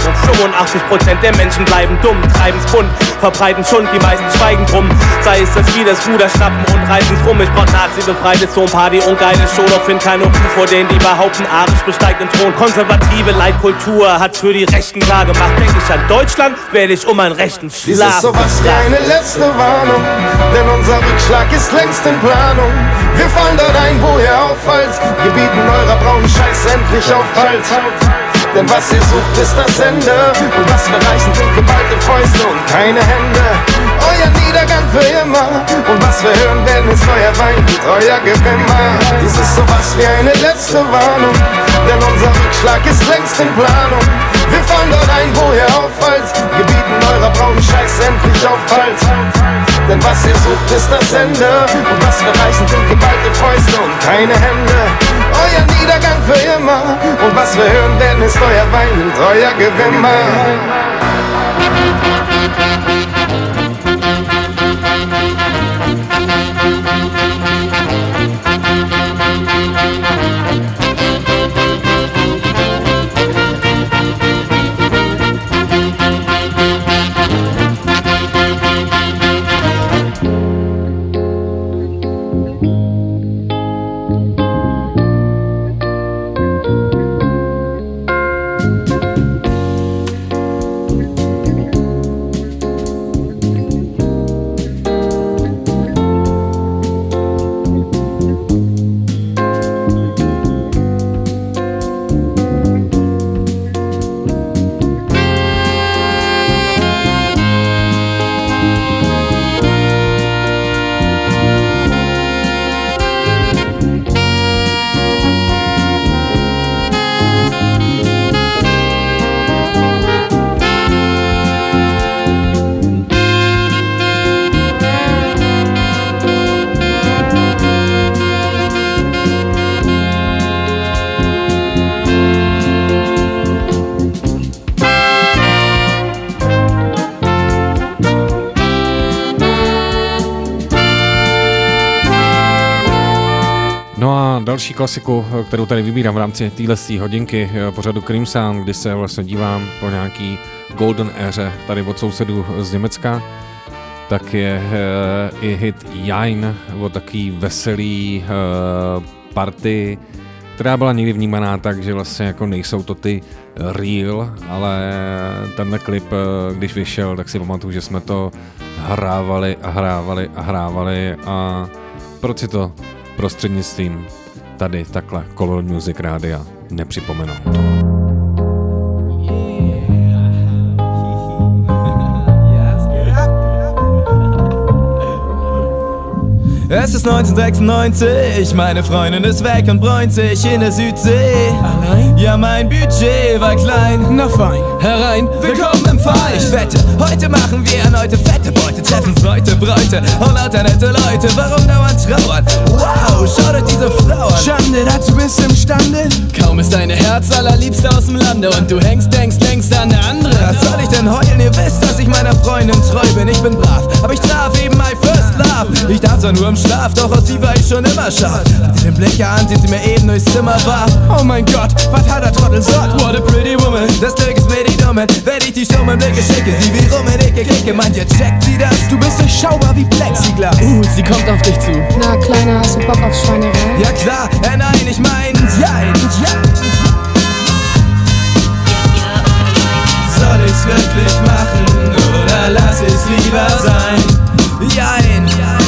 85% der Menschen bleiben dumm, treiben's bunt, verbreiten Schund, die meisten schweigen drum. Sei es, dass wir das Ruder schnappen und reißen's rum. Ich brauch Nazi-befreite Zonenparty und geile Show, doch find keine Ruhe vor denen, die behaupten, Arisch besteigt den Thron. Konservative Leitkultur hat für die Rechten klar gemacht. Denk ich an Deutschland, werde ich um einen rechten Schlag. Dies ist sowas wie eine letzte Warnung, denn unser Rückschlag ist längst in Planung. Wir fallen dort ein, wo ihr auffallt, gebieten eurer braunen Scheiß endlich Aufhalt. Denn was ihr sucht, ist das Ende, und was wir reichen, sind geballte Fäuste und keine Hände. Euer Niedergang für immer, und was wir hören werden, ist euer Wein und euer Gewimmer. Dies ist sowas wie eine letzte Warnung, denn unser Rückschlag ist längst in Planung. Wir fallen dort ein, wo ihr auffallt, gebieten eurer braunen Scheiß endlich Aufhalt. Denn was ihr sucht, ist das Ende, und was wir reichen, sind geballte Fäuste und keine Hände. Euer Niedergang für immer, und was wir hören werden, ist euer Wein und euer Gewimmer. Další klasiku, kterou tady vybírám v rámci téhle hodinky pořadu Cream Sound, kdy se vlastně dívám po nějaký golden éře tady od sousedů z Německa, tak je i hit Jein, o takový veselý party která byla někdy vnímaná tak, že vlastně jako nejsou to ty real, ale tenhle klip, když vyšel, tak si pamatuju, že jsme to hrávali a proč si to prostřednictvím tady takhle Color Music Rádia nepřipomenout. Es ist 1996, meine Freundin ist weg und bräunt sich in der Südsee. Allein? Ja, mein Budget war klein. Na fein, herein, willkommen im Verein. Ich wette, heute machen wir erneute fette Beute, treffen Leute, Bräute und lauter nette Leute. Warum dauernd trauern? Wow, schau dir diese Frau an. Schande, dazu bist du imstande. Kaum ist deine Herz allerliebste aus dem Lande und du denkst längst an eine andere. Was soll ich denn heulen? Ihr wisst, dass ich meiner Freundin treu bin. Ich bin brav, aber ich traf eben my first love. Ich darf zwar nur im Schlaf, doch aus sie war ich schon immer scharf. Mit den Blick an, den sie mir eben durchs Zimmer warf. Oh mein Gott, was hat der Trottel sagt? What a pretty woman. Das Glück ist mir die Dumme, wenn ich die stummen Blicke schicke. Sie wie rum in dicke Kicke, meint ihr checkt sie das? Du bist durchschaubar wie Plexiglas. Sie kommt auf dich zu. Na Kleiner, hast du Bock auf Schweinerei? Ja klar, nein, ich mein, jein, ja. Soll ich's wirklich machen oder lass ich's lieber sein? Jein,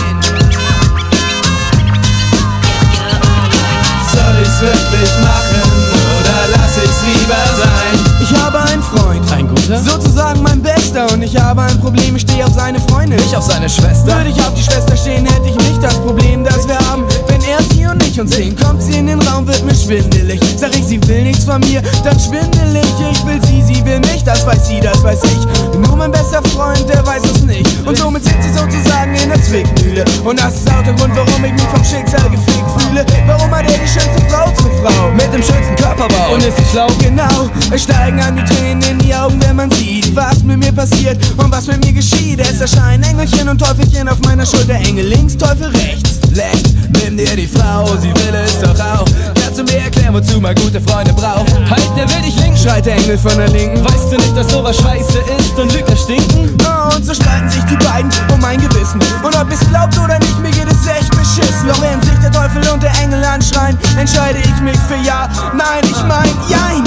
soll ich's wirklich machen oder lass ich's lieber sein? Ich habe einen Freund, ein guter, sozusagen mein Bester. Und ich habe ein Problem, ich stehe auf seine Freundin, nicht auf seine Schwester. Würde ich auf die Schwester stehen, hätte ich nicht das Problem, das wir haben. Wenn er sie und ich uns sehen, kommt sie in den Raum, wird mir schwindelig. Sag ich, sie will nichts von mir, dann schwindel ich. Ich will sie will mich, das weiß sie, das weiß ich. Nur mein bester Freund, der weiß es nicht. Und somit sind sie sozusagen in der Zwickmühle. Und das ist auch der Grund, warum ich mich vom Schicksal gefickt fühle. Warum hat er die schönste Frau zur Frau? Mit dem schönsten Körperbau. Und ist sie schlau? Genau, es steigen an die Tränen in die Augen, wenn man sieht, was mit mir passiert und was mit mir geschieht. Es erscheinen Engelchen und Teufelchen auf meiner Schulter. Engel links, Teufel rechts. Leicht, nimm dir die Frau, sie will es doch auch. Kannst du mir erklären, wozu man gute Freunde braucht? Halt, der will dich linken, schreit der Engel von der Linken. Weißt du nicht, dass sowas scheiße ist und Lügner stinken? Oh, und so streiten sich die beiden um mein Gewissen. Und ob es glaubt oder nicht, mir geht es echt beschissen. Doch während sich der Teufel und der Engel anschreien, entscheide ich mich für ja, nein, ich mein, jein.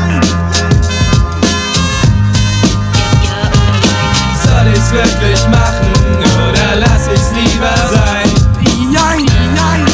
Soll ich's wirklich machen oder lass ich's lieber sein? Jein, nein.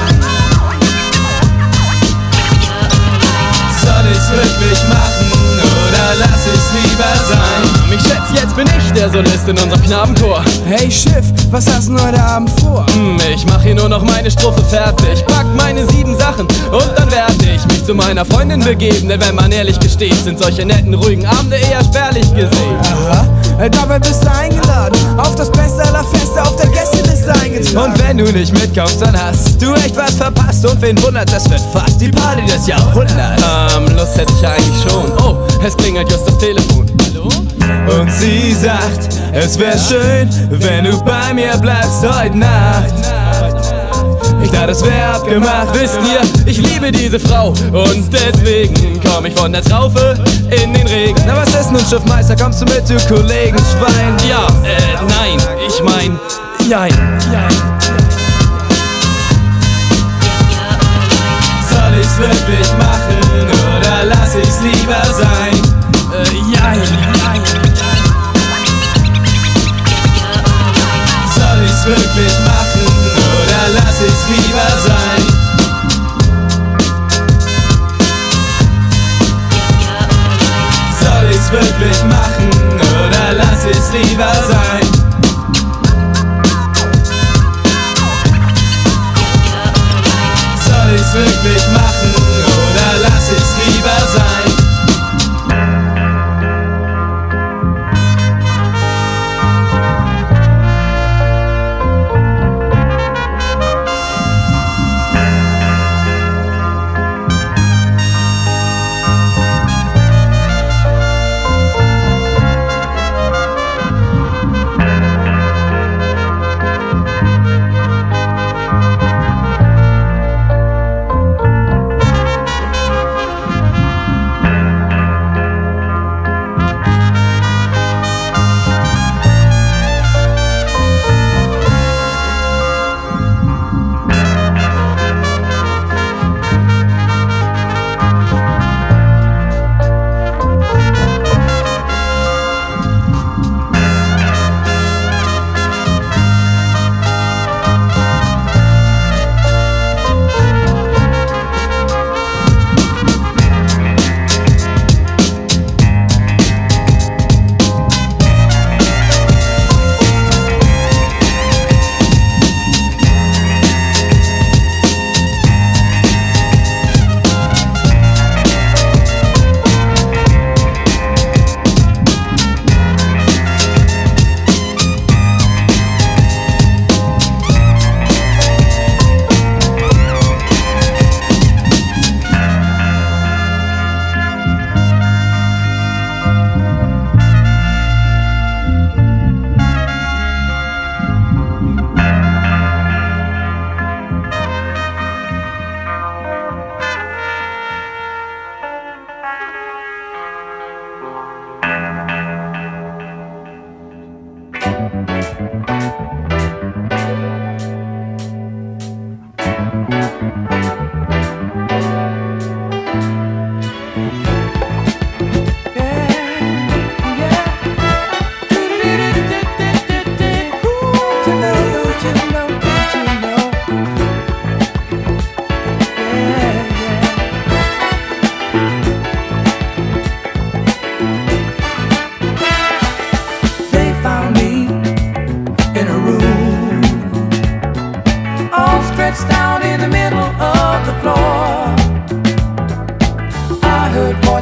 Soll ich's wirklich machen oder lass ich's lieber sein? Ich schätze, jetzt bin ich der Solist in unserem Knabenchor. Hey Schiff, was hast du heute Abend vor? Ich mach hier nur noch meine Strophe fertig, pack meine 7 Sachen und dann werde ich mich zu meiner Freundin begeben. Denn wenn man ehrlich gesteht, sind solche netten, ruhigen Abende eher spärlich gesehen. Aha. Dabei bist du eingeladen, auf das Beste aller Feste, auf der Gästeliste eingetragen. Und wenn du nicht mitkommst, dann hast du echt was verpasst. Und wen wundert, das wird fast die Party des Jahrhunderts. Lust hätte ich ja eigentlich schon. Oh, es klingelt just das Telefon. Hallo? Und sie sagt, es wär schön, wenn du bei mir bleibst heute Nacht. Ich dachte, es wär abgemacht. Wisst ihr, ich liebe diese Frau und deswegen komm ich von der Traufe in den Regen. Na was ist nun, Schiffmeister, kommst du mit, du Kollegenschwein? Ja, nein, ich mein, jein. Soll ich's wirklich machen oder lass ich's lieber sein? Jein. Soll ich's wirklich machen oder lass ich's lieber sein? Soll ich's wirklich machen oder lass ich's lieber sein? Soll ich's wirklich machen oder lass ich's lieber sein?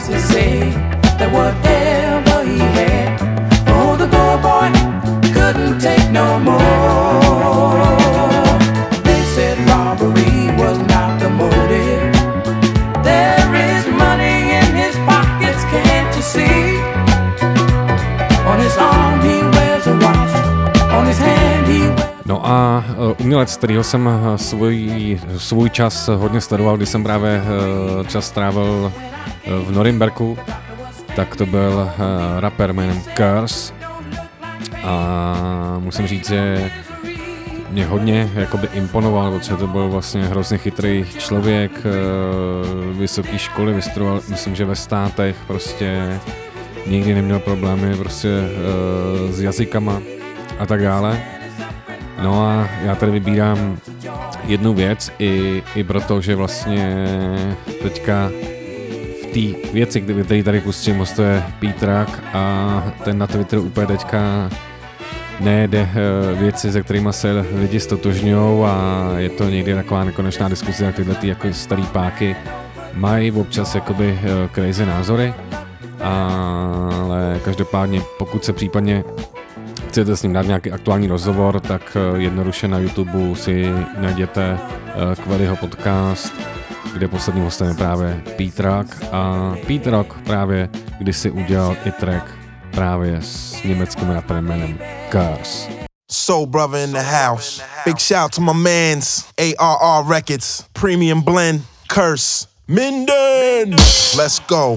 does he say that whatever he had, oh, the poor boy couldn't take no more. They said robbery was not the motive. There is money in his pockets, can't you see? On his arm he wears a watch, on his hand he wears... No a umělec, kterýho jsem svůj čas hodně sledoval, když jsem právě čas strávil v Norimberku, tak to byl rapper jménem Curse. A musím říct, že mě hodně jakoby imponoval, protože to byl vlastně hrozně chytrý člověk, vysoké školy vystudoval, myslím, že ve Státech, prostě nikdy neměl problémy prostě s jazykama a tak dále. No a já tady vybírám jednu věc i proto, že vlastně teďka v té věci, který tady pustím, hostuje P-Track a ten na Twitteru úplně teďka nejde věci, se kterými se lidi stotožňují a je to někdy taková nekonečná diskuse, jak tyhle jako starý páky mají občas jakoby crazy názory, ale každopádně pokud se případně chcete s ním dát nějaký aktuální rozhovor, tak jednoduše na YouTube si najděte Quellyho podcast, kde posledním hostem je právě P-Track a P-Track právě kdysi udělal i track právě s německým raperem jménem Curse. Soul Brother in the house. Big shout to my mans, ARR Records, Premium Blend, Curse, Minden. Let's go.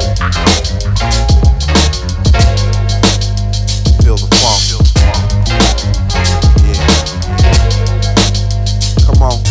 Feel the funk. Yeah. Come on.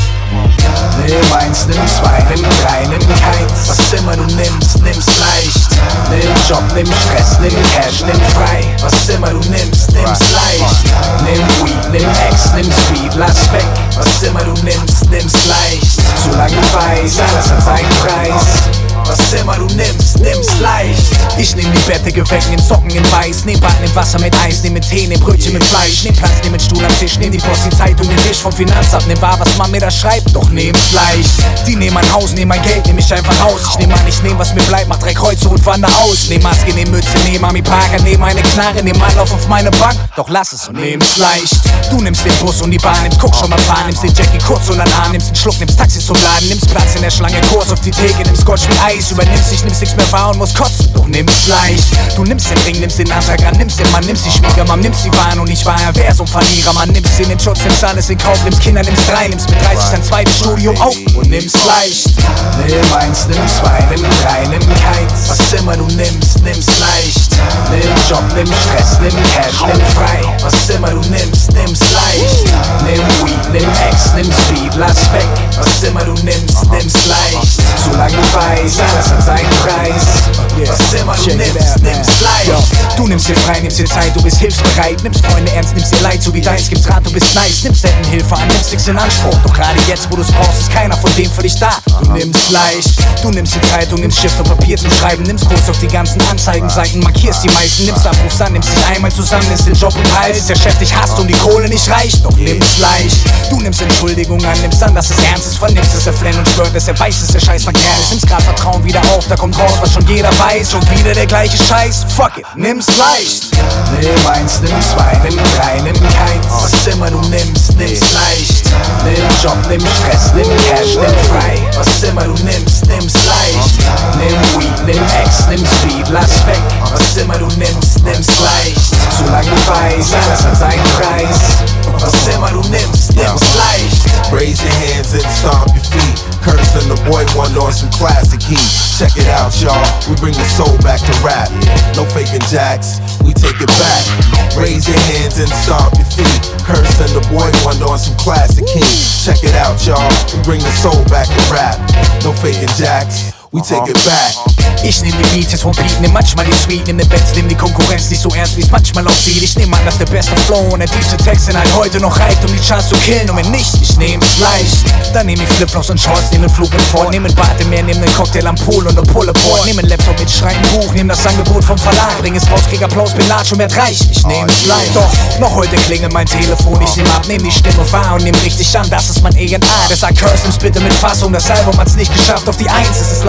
Nimm eins, nimm zwei, nimm drei, nimm keins. Was immer du nimmst, nimm's leicht. Nimm Job, nimm Stress, nimm Cash, nimm frei. Was immer du nimmst, nimm's leicht. Nimm Weed, nimm Ex, nimm Speed, lass weg. Was immer du nimmst, nimm's leicht. Solange du weißt, alles hat seinen Preis. Was immer du nimmst, nimm's leicht. Ich nehm die Bettdecke weg, nehm Socken in Weiß. Nehm Bad, nehm Wasser mit Eis, nehm mit Tee, nehm Brötchen mit Fleisch. Nehm Platz, nehm mit Stuhl am Tisch, nehm die Post, die Zeitung, den Tisch vom Finanzamt. Nehm wahr, was man mir da schreibt, doch nehm's leicht. Die nehmen mein Haus, nehmen mein Geld, nehm ich einfach raus. Ich nehm an, ich nehm was mir bleibt, mach 3 Kreuze und wander aus. Nehm Maske, nehm Mütze, nehm Ami Parker, nehm eine Knarre, nehm Anlauf auf meine Bank. Doch lass es und nehm's leicht. Du nimmst den Bus und die Bahn, nimmst guck schon mal fahren, nimmst den Jackie kurz und an Arm, nimmst den Schluck, nimmst Taxi zum Laden, nimmst Platz in der Schlange, Kurs auf die Theke, nimmst Scotch mit Eis, übernimmst dich, nimmst nichts mehr wahr und musst kotzen, doch nimm's leicht. Du nimmst den Ring, nimmst den Antrag an, nimmst den Mann, nimmst die Schwiegermann, nimmst die Waren und ich war ja wer so ein Verlierer, Mann, nimmst den Schutz, nimmst alles in Kauf, nimmst Kinder, nimmst 3, nimmst mit 30 dein zweites Studio auf und nimm's leicht. Nimm eins, nimm zwei, nimm 3, nimm keins. Was immer du nimmst, nimm's leicht. Nimm Job, nimm Stress, nimm Cash, nimm frei. Was immer du nimmst, nimm's leicht. Nimm Weed, nimm Ex, nimm Speed, lass weg. Was immer du nimmst, nimm's leicht. Solange du weißt, alles hat seinen Preis. Was immer du nimmst, nimm's leicht. Du nimmst dir frei, nimmst dir Zeit, du bist hilfsbereit. Nimmst Freunde ernst, nimmst dir Leid, so wie deins gibt's Rat, du bist nice. Nimmst selten Hilfe an, nimmst nix in Anspruch. Doch gerade jetzt, wo du's brauchst, ist keiner von dem für dich da. Du nimmst leicht, du nimmst die Zeitung, nimmst Stift und Papier zum Schreiben. Nimmst kurz auf die ganzen Anzeigenseiten, markierst die meisten. Nimmst Abrufs an, nimmst dich einmal zusammen, nimmst den Job und Hals. Der Chef dich hasst und die Kohle nicht reicht, doch nimm's leicht. Du nimmst Entschuldigung an, nimmst an, dass es ernst ist. Vernimmst es, er flennt und schwört, dass er weiß, dass der Scheiß verkehrt ist. Nimmst grad Vertrauen wieder auf, da kommt raus, was schon jeder weiß. Und wieder der gleiche Scheiß, fuck it, nimm's leicht. Nimm eins, nimm zwei, nimm 3, nimm keins. Was immer du nimmst, nimm's leicht. Nimm Job, nimm Stress, nimm Cash, nimm frei. Was immer du nimmst, nimm's leicht. Nimm Weed, nimm Ex, nimm Speed, lass weg. Was immer du nimmst, nimm's leicht. Solange du weißt, alles hat seinen Preis. Was immer du nimmst, nimm's leicht. Raise your hands and stomp your feet. Curse and the boy wonder on some classic heat. Check it out, y'all. We bring the soul back to rap. No faking jacks, we take it back. Raise your hands and stomp your feet. Curse and the boy wonder on some classic heat. Check it out, y'all. We bring the soul back to rap. No faking jacks. We take it back. Ich nehm die Beats jetzt vom Beat, nimm manchmal die Sweet, nimm den Bands, nimm die Konkurrenz nicht so ernst, wie's manchmal aussieht. Ich nehm an, dass der beste Flow und der tiefste Text in halt heute noch reicht, um die Charts zu killen. Und wenn nicht, ich nehm's leicht. Dann nehm ich Flipflops und Shorts, nehm den Flug mit voll, nehm ein Bad im Meer, nehm nen Cocktail am Pool und ne Pull-Aboard. Nehm einen Laptop mit, schreib ein Buch, nehm das Angebot vom Verlag, bring es raus, krieg Applaus, bin Latsch und werd reich. Ich nehm's leicht. Doch, noch heute klingelt mein Telefon, ich nehm ab, nehm die Stimme wahr und nehm richtig an, das ist mein ENA. Der sagt Curse, nimm's bitte mit Fassung, das Album hat's nicht geschafft auf die 1, es ist leider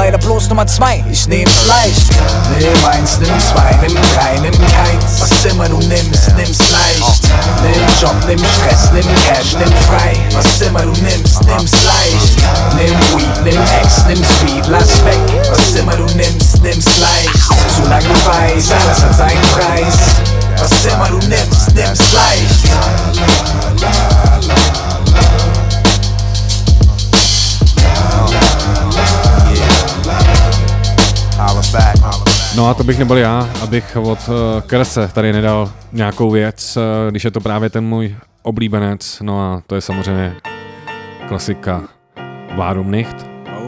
leider bloß Nummer 2, ich nehm's leicht. Nimm 1, nimm 2, nimm 3, nimm keins. Was immer du nimmst, nimm's leicht. Nimm Job, nimm Stress, nimm Cash, nimm frei. Was immer du nimmst, nimm's leicht. Nimm Weed, nimm Ex, nimm Speed, lass weg. Was immer du nimmst, nimm's leicht. Solange du weißt, alles hat seinen Preis. Was immer du nimmst, nimm's leicht. No a to bych nebyl já, abych od Krse tady nedal nějakou věc, když je to právě ten můj oblíbenec, no a to je samozřejmě klasika Warum nicht?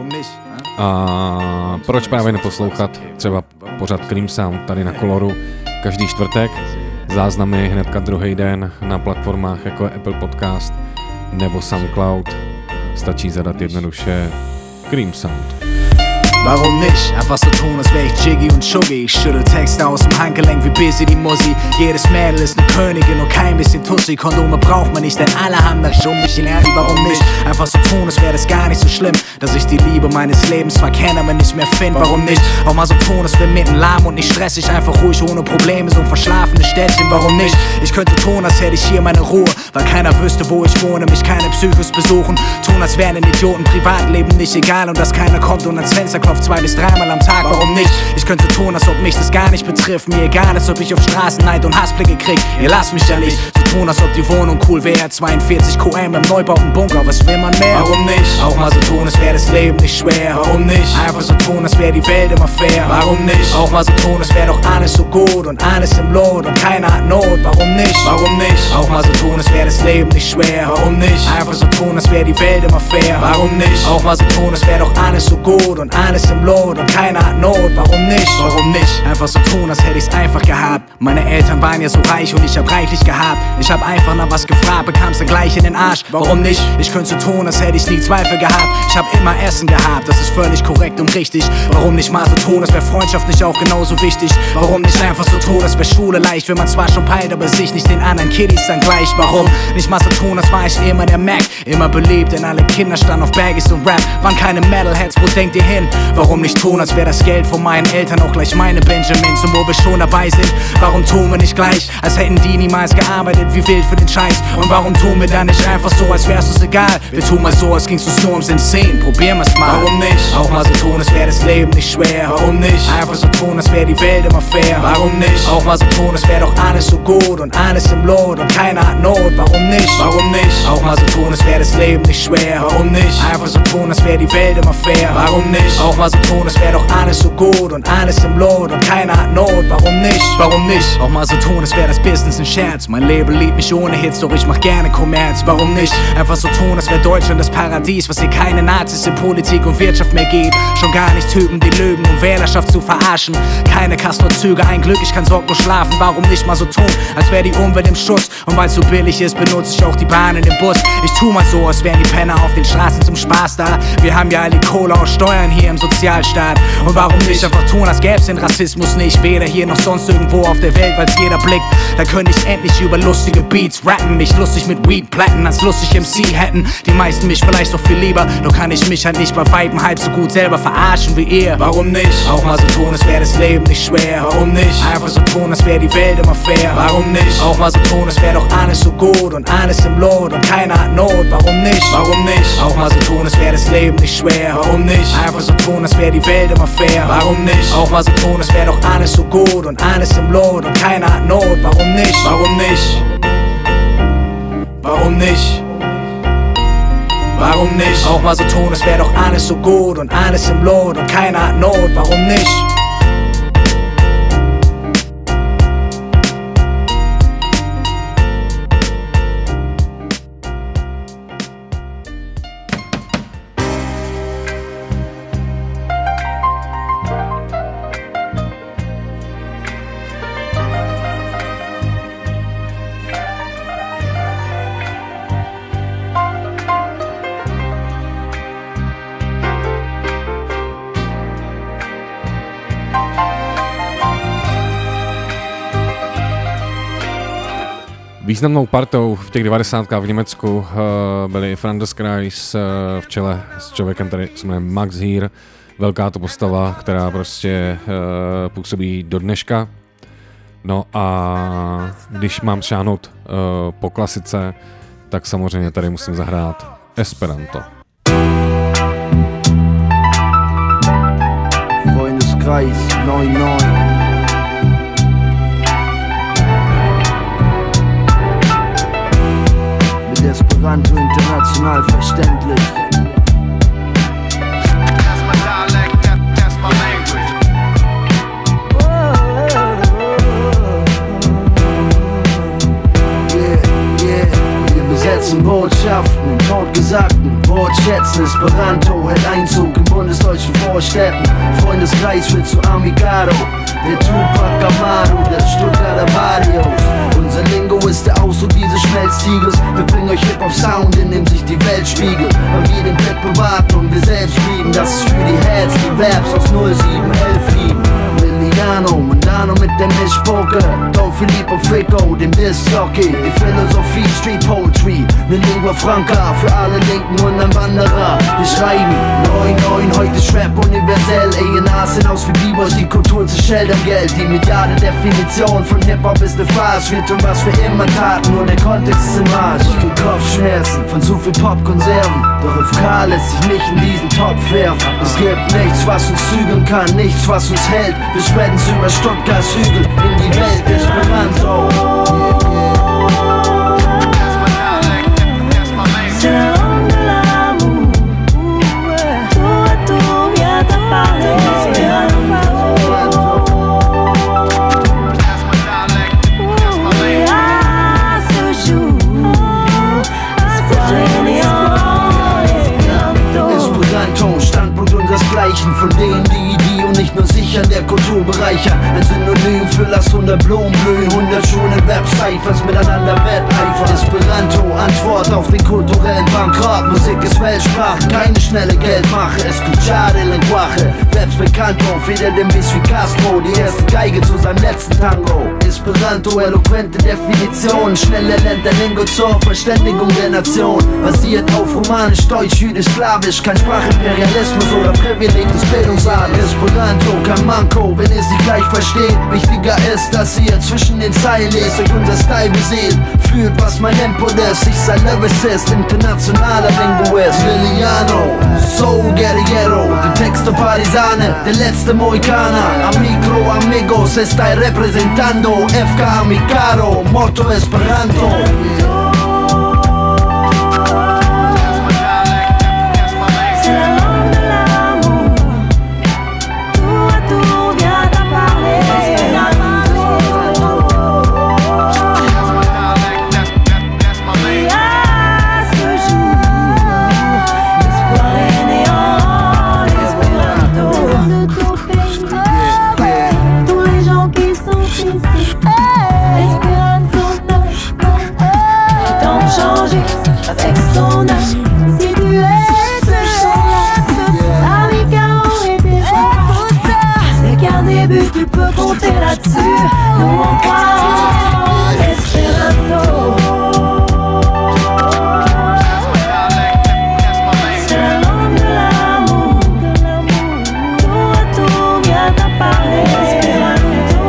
A proč právě neposlouchat třeba pořad Cream Sound tady na Koloru každý čtvrtek, záznamy hnedka druhý den na platformách jako Apple Podcast nebo SoundCloud, stačí zadat jednoduše Cream Sound. Warum nicht? Einfach so tun, als wär ich Jiggy und Chuggy. Ich schüttel Texte aus dem Handgelenk wie Busy die Mussi. Jedes Mädel ist ne Königin und kein bisschen Tussi. Kondome braucht man nicht, denn alle haben das um mich lernen. Warum nicht? Einfach so tun, als wär das gar nicht so schlimm, dass ich die Liebe meines Lebens zwar kenne, aber nicht mehr find. Warum nicht? Auch mal so tun, als wär mitten lahm und nicht stressig. Einfach ruhig, ohne Probleme, so ein verschlafenes Städtchen. Warum nicht? Ich könnte tun, als hätte ich hier meine Ruhe, weil keiner wüsste, wo ich wohne, mich keine Psychos besuchen. Tun, als wären ein Idioten Privatleben nicht egal und dass keiner kommt und ans Fenster klopft 2 bis 3 Mal am Tag, warum nicht? Ich könnte tun, als ob mich das gar nicht betrifft. Mir egal, als ob ich auf Straßen Neid und Hassblicke krieg. Ihr lasst mich ja nicht so tun, als ob die Wohnung cool wäre. 42 QM im neubauten Bunker, was will man mehr? Warum nicht? Auch mal so tun, als wäre das Leben nicht schwer. Warum nicht? Einfach so tun, als wäre die Welt immer fair. Warum nicht? Auch mal so tun, als wäre doch alles so gut und alles im Lot und keiner hat Not. Warum nicht? Warum nicht? Auch mal so tun, als wäre das Leben nicht schwer. Warum nicht? Einfach so tun, als wäre die Welt immer fair. Warum nicht? Auch mal so tun, als wäre doch alles so gut und alles im Lot und keiner hat Not. Warum nicht? Warum nicht? Einfach so tun, als hätte ich's einfach gehabt. Meine Eltern waren ja so reich und ich hab reichlich gehabt. Ich hab einfach nach was gefragt, bekam's dann gleich in den Arsch. Warum nicht? Ich könnte so tun, als hätte ich nie Zweifel gehabt. Ich hab immer Essen gehabt, das ist völlig korrekt und richtig. Warum nicht mal so tun, als wär Freundschaft nicht auch genauso wichtig? Warum nicht einfach so tun, als wär Schule leicht, wenn man zwar schon peilt, aber sich nicht den anderen Kiddies dann gleich? Warum nicht mal so tun, als war ich immer der Mac? Immer beliebt, denn alle Kinder standen auf Baggies und Rap. Waren keine Metalheads, wo denkt ihr hin? Warum nicht tun, als wär das Geld von meinen Eltern auch gleich meine Benjamins? Und wo wir schon dabei sind, warum tun wir nicht gleich, als hätten die niemals gearbeitet wie wild für den Scheiß? Und warum tun wir dann nicht einfach so, als wär's uns egal? Wir tun mal so, als ging's uns nur ums Insane. Probieren wir's mal. Warum nicht? Auch mal so tun, als wär das Leben nicht schwer. Warum nicht? Einfach so tun, als wär die Welt immer fair. Warum nicht? Auch mal so tun, als wär doch alles so gut und alles im Lot und keiner hat Not. Warum nicht? Warum nicht? Auch mal so tun, als wär das Leben nicht schwer. Warum nicht? Einfach so tun, als wär die Welt immer fair. Warum nicht? Auch mal so tun, als wär doch alles so gut und alles im Lot und keiner hat Not. Warum nicht? Warum nicht? Auch mal so tun, als wär das Business ein Scherz. Mein Label liebt mich ohne Hits, doch ich mach gerne Kommerz. Warum nicht? Einfach so tun, als wär Deutschland das Paradies, was hier keine Nazis in Politik und Wirtschaft mehr gibt. Schon gar nicht Typen, die lügen, um Wählerschaft zu verarschen. Keine Castor-Züge, ein Glück, ich kann sorglos schlafen. Warum nicht mal so tun, als wär die Umwelt im Schuss? Und weil's so billig ist, benutze ich auch die Bahn in den Bus. Ich tu mal so, als wären die Penner auf den Straßen zum Spaß da. Wir haben ja all die Kohle aus Steuern hier im Sozialstaat. Und warum nicht einfach tun, als gäb's den Rassismus nicht? Weder hier noch sonst irgendwo auf der Welt, weil's jeder blickt. Da könnte ich endlich über lustige Beats rappen. Mich lustig mit Weed platten, als lustig MC hätten. Die meisten mich vielleicht doch viel lieber, doch kann ich mich halt nicht bei Weitem halb so gut selber verarschen wie ihr. Warum nicht? Auch mal so tun, als wär das Leben nicht schwer. Warum nicht? Einfach so tun, als wär die Welt immer fair. Warum nicht? Auch mal so tun, als wär doch alles so gut und alles im Lot und keiner hat Not. Warum nicht? Warum nicht? Auch mal so tun, als wär das Leben nicht schwer. Warum nicht? Einfach so tun, als wär die Welt immer fair. Warum nicht? Auch mal so tun, als wär doch alles so gut und alles im Lot und keiner hat Not. Warum nicht? Warum nicht? Warum nicht? Warum nicht? Auch mal so tun, als wär doch alles so gut und alles im Lot und keiner hat Not. Warum nicht? Významnou partou v těch 90kách v Německu byli Franz Kreis v čele s člověkem, který se jmenuje Max Hier, velká to postava, která prostě působí do dneška. No a když mám šáhnout po klasice, tak samozřejmě tady musím zahrát Esperanto. Freundeskreis 99. Mit Esperanto international verständlich. Botschaften in totgesagten Wortschätzen. Esperanto hält Einzug in bundesdeutschen Vorstädten. Freundeskreis wird zu Amigaro, der Tupac Amaru der Stuttgarter Barrios. Unser Lingo ist der Ausdruck dieses Schmelztiegels. Wir bringen euch Hip-Hop-Sound, in dem sich die Welt spiegelt. Weil wir den Blick bewahrten und wir selbst blieben. Das ist für die Heads, die Raps aus 0711 lieben. Liliano, Mondano mit dem Mischpoker. Don Filippo Frico, dem Disc-Jockey. Die Philosophie, Street Poetry, ne Lingua Franca für alle Linken und ein Wanderer. Wir schreiben 9-9, heute ist Rap universell. A&Rs sind aus wie B-Boys, die Kultur zu schildern Geld. Die mediale Definition von Hip-Hop ist eine Farce. Wir tun was wir immer taten, nur der Kontext ist im Arsch. Ich krieg Kopfschmerzen von zu viel Popkonserven. Doch FK lässt sich nicht in diesen Topf werfen. Es gibt nichts, was uns zügeln kann, nichts, was uns hält. Wir spreaden's über Stuttgarts Hügel in die Welt Esperanto. C'est la langue de l'amour. Tour à tour vient à parler Esperanto. À ce jour, espoir néant Esperanto. Esperanto, Standpunkt unseresgleichen von denen, die und nicht nur sich an der Kultur bereichern. Ein Synonym für lass 100 Blumen blühen, 100 schöne Webcyphers miteinander wetteifern. Esperanto, Antwort auf den kulturellen Bankrott. Musik ist Weltsprache, keine schnelle Geldmache. Escuchar el lenguaje, Raps Bekannto, feder dem Biss wie Castro. Die erste Geige zu seinem letzten Tango. Esperanto, eloquente Definition, schnell erlernt der Lingo zur Verständigung der Nation. Basiert auf Romanisch, Deutsch, Jüdisch, Slawisch, kein Sprachimperialismus oder Privileg des Bildungsadels. Esperanto, kein Manko, wenn ihr sie gleich versteht. Wichtiger ist, dass ihr zwischen den Zeilen lest, euch unser Style beseelt. Fühlt, was mein Input ist, ich sei Lyricist, internationaler Linguist. Liliano, Soul Guerrillero, die Texte Parisane, der letzte Mohikaner. Amigo, amigos, estai representando, FK Amicaro, Motto Esperanto. Avec son âme, si tu es ce chant-là, Amicaro et tes c'est qu'un début, tu peux compter là-dessus. Nous on croit en Esperanto. C'est la langue de l'amour, tour à tour vient à parler Esperanto.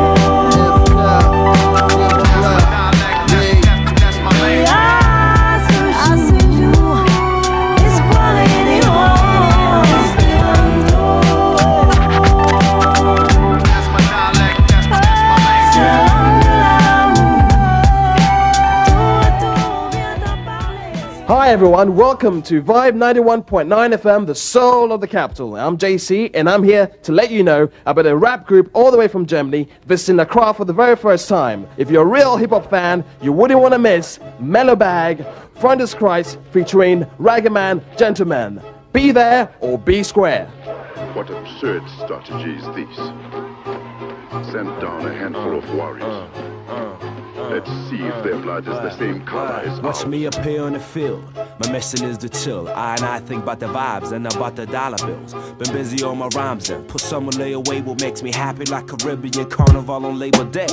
Hi everyone, welcome to Vibe 91.9 FM, the soul of the capital. I'm JC and I'm here to let you know about a rap group all the way from Germany visiting Accra for the very first time. If you're a real hip-hop fan, you wouldn't want to miss Mellow Bag, Freundeskreis featuring Ragaman Gentleman. Be there or be square. What absurd strategy is this? Send down a handful of warriors. Let's see if their blood is the same color as Watch ours. me appear on the field. My mission is to chill. I think about the vibes and about the dollar bills. Been busy on my rhymes and put some lay away what makes me happy like Caribbean Carnival on Labor Day.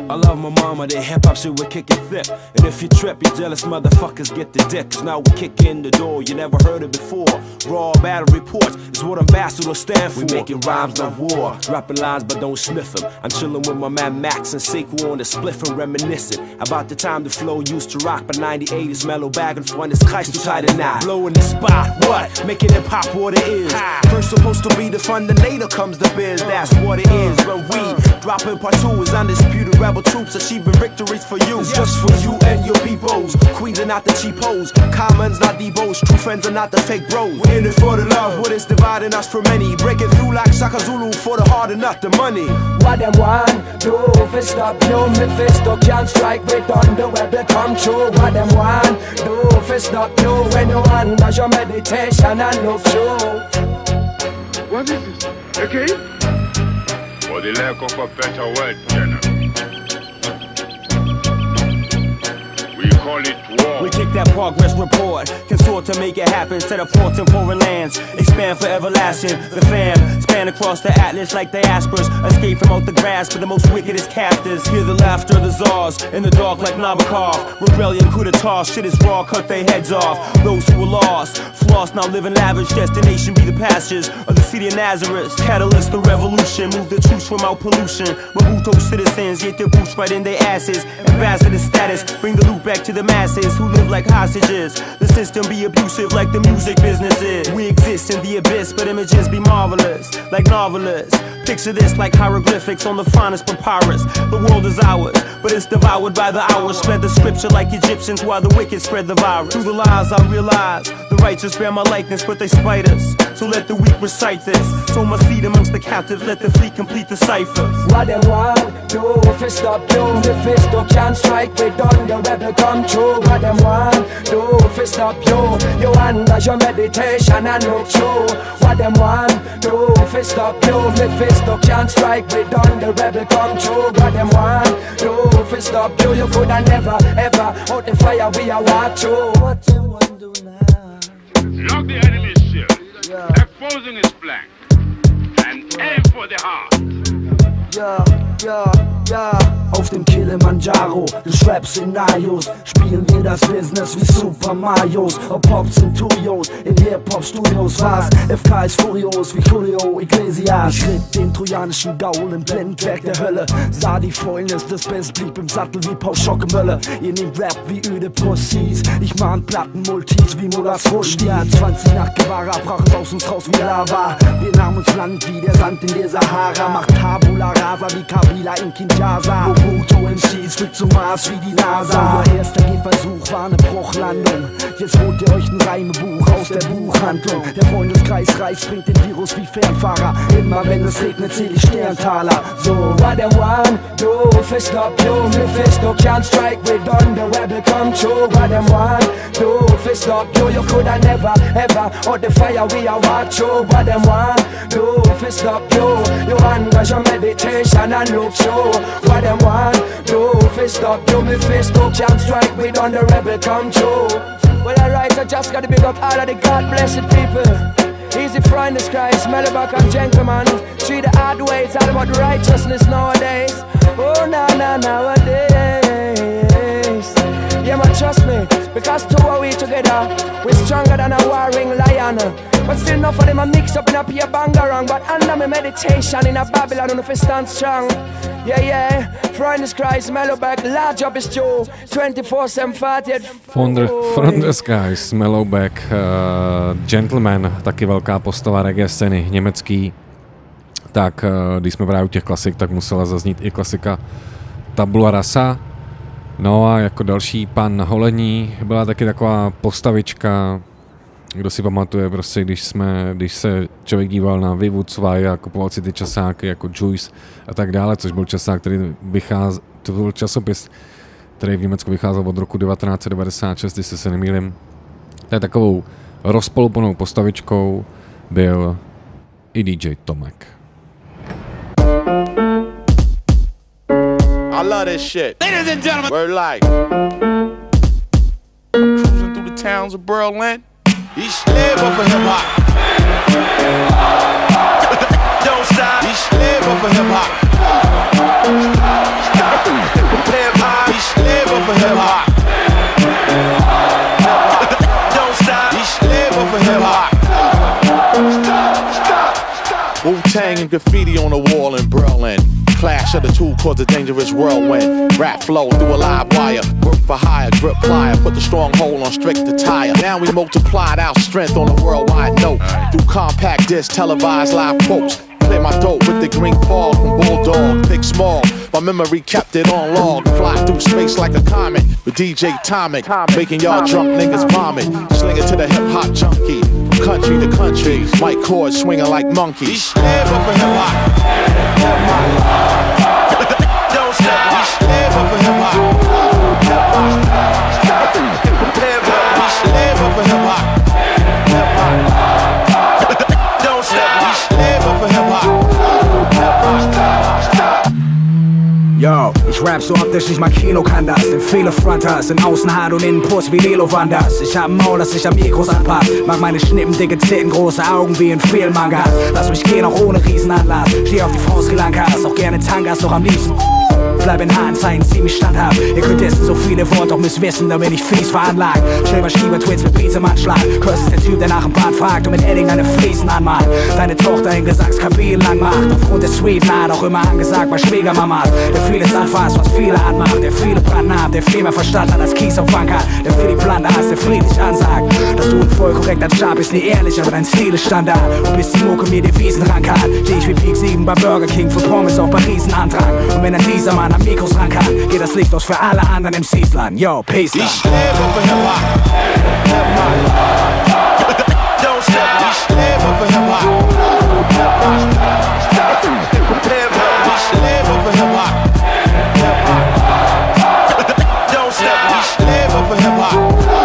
I love my mama, the hip-hop shit we're kicking thick. And if you trip, you jealous motherfuckers get the dick. Cause now we kick in the door, you never heard it before. Raw battle reports is what ambassadors stand for. We making rhymes, not war. Dropping lines, but don't sniff them. I'm chilling with my man Max and Sequel on the spliff and reminiscing about the time the flow used to rock. But 98 mellow bag and Freund ist Kreis, du Teile now. Blowing the spot, what? Making it pop what it is. First supposed to be the fun, then later comes the biz. That's what it is when we dropping part 2 is undisputed rebel troops achieving victories for you. It's just for you and your peoples. Queens are not the cheapos, commons not Debos, true friends are not the fake bros. We're in it for the love, what is dividing us from many. Breaking through like Shaka Zulu for the heart and not the money. What them want do if stop you, me fist can't strike with thunder where they come true. What them want do if stop you when you wonder your meditation and look through. What is this? Okay? For the lack of a better word, General. We call it war. We kick that progress report, consort to make it happen. Set up forts in foreign lands, expand for everlasting. The fam span across the atlas like diasporas. Escape from out the grasp of the most wickedest captors. Hear the laughter of the czars in the dark like Nabokov. Rebellion, coup d'etat, shit is raw, cut their heads off. Those who were lost, floss now living lavish. Destination be the pastures of the city of Nazareth. Catalyst the revolution, move the troops from out pollution. Mabuto citizens get their boots right in their asses. Ambassador status, bring the loot back to the masses who live like hostages. The system be abusive like the music business is. We exist in the abyss, but images be marvelous, like novelists. Picture this like hieroglyphics on the finest papyrus. The world is ours, but it's devoured by the hours. Spread the scripture like Egyptians while the wicked spread the virus. Through the lies I realize the righteous bear my likeness, but they spite us. So let the weak recite this. So my seed amongst the captives, let the fleet complete the ciphers. What them want do if it stop you, the fist can't strike with thunder rebel come true. What them want do if it stop you, you wonder your meditation and look through. What them want do if it stop you, the fist can't strike with thunder rebel come true. What them want do if it stop you, you coulda never ever out the fire we are walk through. What them want do now? Lock the enemy's ship, exposing his flank, and aim for the heart. Ja, ja, ja. Auf dem Kilimanjaro des Rap-Szenarios spielen wir das Business wie Super Marios. Ob Pops und Tuyos in Hip-Hop-Studios war's. FK ist furios wie Julio Iglesias. Ich ritt den trojanischen Gaul im Blendwerk der Hölle. Sah die Fäulnis des Best, blieb im Sattel wie Paul Schockemölle. Ihr nehmt Rap wie öde Pussys. Ich mahn Plattenmultis wie Mullahs Rushdie. Ja, 20 nach Guevara brach es aus uns raus wie Lava. Wir nahmen uns Land wie der Sand in der Sahara. Macht Tabula Rasa wie Kabila in Kinshasa. Mobutu MCs fliegt zum Mars wie die NASA. Euer erster Gehversuch war eine Bruchlandung. Jetzt holt ihr euch ein Reimebuch aus der Buchhandlung. Der Freundeskreis reißt, bringt den Virus wie Fernfahrer. Immer wenn es regnet, zähl ich Sterntaler. So, what them want do if it stop you, Mephisto can't strike with thunder rebel come true. What them want do if it stop you, you coulda never ever out the fire we are walk through. What them want do if it stop you, you wonder your meditation and look through. What them want do if it stop you, Mephisto can't strike with thunder rebel come true. Well, alright, I just gotta big up all of the God-blessed people. Easy Freund ist Christ, Mellowback and Gentleman. See the hard way, it's all about righteousness nowadays. Oh, nowadays. Yeah, man, trust me, because two are we together. We're stronger than a warring lion. But still enough of them are mixed up in a peer bangarang. But under my meditation in a Babylon, I know if I stand strong. Yeah, yeah, Freund ist Christ, Mellowback, large job is Joe, 24/7 From the Skies, Mellowback, Gentleman, taky velká postava reggae scény, německý. Tak když jsme právě u těch klasik, tak musela zaznít i klasika Tabula Rasa. No a jako další pan Holení byla taky taková postavička, kdo si pamatuje, prostě když se člověk díval na Vivu 2 a kupoval si ty časáky jako Juice a tak dále, což byl časák, to byl časopis, který v Německu vycházel od roku 1996, jestli se nemýlim. To je takovou rozpolupanou postavičkou byl i DJ Tomek. I love this shit. Ladies and gentlemen, we're like cruising through the towns of Berlin. Ich lebe für Hip-Hop. Don't stop. Ich lebe für Hip-Hop. Wu-Tang and graffiti on the wall in Berlin. Clash of the two caused a dangerous whirlwind. Rap flow through a live wire. Work for hire, grip plier. Put the stronghold on strict attire. Now we multiplied our strength on a worldwide note. Through compact disc, televised live quotes. Clear my throat with the green fog from Bulldog. Big small, my memory kept it on log. Fly through space like a comet with DJ Tomic. Making y'all drunk niggas vomit. Sling it to the hip hop junkie. From country to country, white cords swinging like monkeys. Live up for hip hop. Don't stop. Live up for hip hop. Live up for hip hop. Don't stop. Live up for hip hop. Yo, ich rap so optisch, nicht mal Kino kann das. Denn viele Fronters sind außen hart und innen Puss wie Lelo Wanders. Ich hab ein Maul, das sich am Mikros anpasst. Mag meine Schnippen, dicke Zähne, große Augen wie in vielen Mangas. Lass mich gehen, auch ohne Riesenanlass. Steh auf die Frau Sri Lankas, auch gerne Tangas, doch am liebsten bleib in Haaren zeigen, ziemlich standhaft. Ihr könnt essen so viele Worte, doch müsst wissen, da bin ich fies veranlagt. Schreiber Schieber-Twins mit Beats im Anschlag. Curse ist der Typ, der nach dem Bad fragt und mit Edding deine Fliesen anmalt. Deine Tochter in Gesangskabinen lang macht. Aufgrund der Sweet Naht auch immer angesagt bei Schwiegermamas. Der vieles anfasst, was viele anmacht. Der viele Brandnamen, der viel mehr Verstand hat als Kies auf Bank hat. Der für die Blande hast, der friedlich ansagt. Dass du ein voll korrekter Job bist, nie ehrlich, aber dein Stil ist Standard. Und bis die Mucke mir Devisen rankan, steh ich wie Peak 7 bei Burger King für Pommes auf Paris Antrag. Und wenn dann dieser Mann am Mikros ran kann, geht das Licht aus für alle anderen MCs lang. Yo, peace da. Ich lebe für Hip-Hop. Don't stop. Ich lebe für Hip-Hop. Ich lebe für Hip-Hop. Don't stop. Ich lebe für Hip-Hop.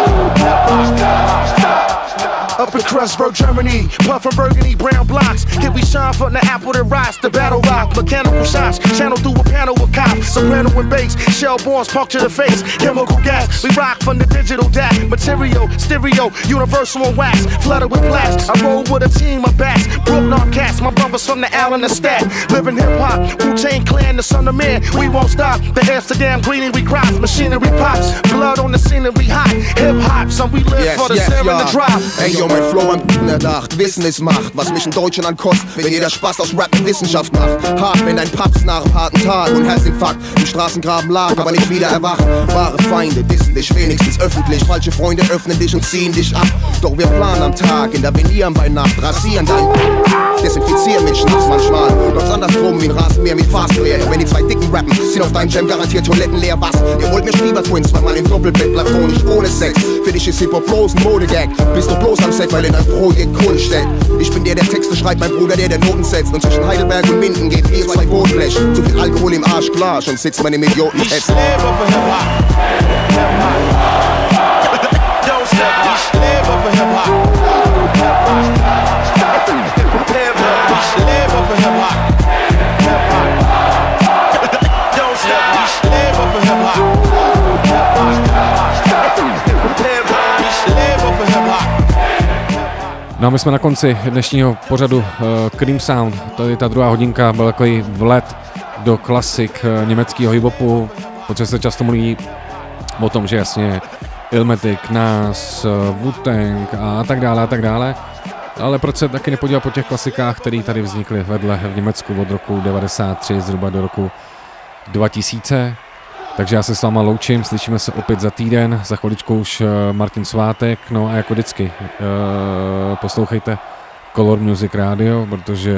Up in Kreuzberg, Germany, puffin' burgundy, brown blocks. Here we shine from the apple that rocks, the battle rock, mechanical shots, channel through a panel of cops, soprano and bass, shell bombs puncture the face, chemical gas. We rock from the digital DAC, material, stereo, universal and wax, flooded with blacks. I roll with a team of bats, Brooklyn cats, my brothers from the Allen and Stack. Living hip hop, Wu-Tang Clan, the son of man. We won't stop. The Amsterdam greenery we crops, machinery pops, blood on the scenery hot. Hip hop, son, we live for the sound and the drop. Ey, yo, mein Flow am erdacht, Wissen ist Macht, was mich in Deutschland ankostet, wenn jeder Spaß aus Rap mit Wissenschaft macht. Hart, wenn ein Paps nach einem harten Tag und Herzinfarkt im Straßengraben lag, aber nicht wieder erwacht. Wahre Feinde dissen dich wenigstens öffentlich, falsche Freunde öffnen dich und ziehen dich ab. Doch wir planen am Tag, intervenieren bei Nacht, rasieren dein desinfizieren mit Schnaps manchmal. Doch andersrum wie ein Rasenmäher mit Fastware. Wenn die zwei Dicken rappen, sind auf deinem Jam garantiert Toiletten leer. Was? Ihr wollt mir Schieber-Twins, weil man im Doppelbett platonisch ohne Sex. Für dich ist Hip-Hop bloß ein Modegag. Bist du bloß am Set, weil in dein Projekt Kohle steckt. Ich bin der Texte schreibt, mein Bruder, der Noten setzt. Und zwischen Heidelberg und Minden geht wie zwei Bootblech. Zu viel Alkohol im Arsch, klar, schon sitzt man im Idioten. Ich lebe für Hip-Hop. Don't stop. Ich lebe für Hip-Hop. Ich lebe für Hip-Hop. Don't stop. Ich lebe für Hip-Hop. Ich lebe für Hip-Hop. No a my jsme na konci dnešního pořadu Cream Sound. Tady ta druhá hodinka byl takový vlet do klasik německého hip-hopu, protože se často mluví o tom, že jasně Illmatic, Nas, Wu-Tang a tak dále. Ale proč se taky nepodívat po těch klasikách, které tady vznikly vedle v Německu od roku 93 zhruba do roku 2000. Takže já se s váma loučím, slyšíme se opět za týden, za chviličku už Martin Svátek, no a jako vždycky poslouchejte Color Music Radio, protože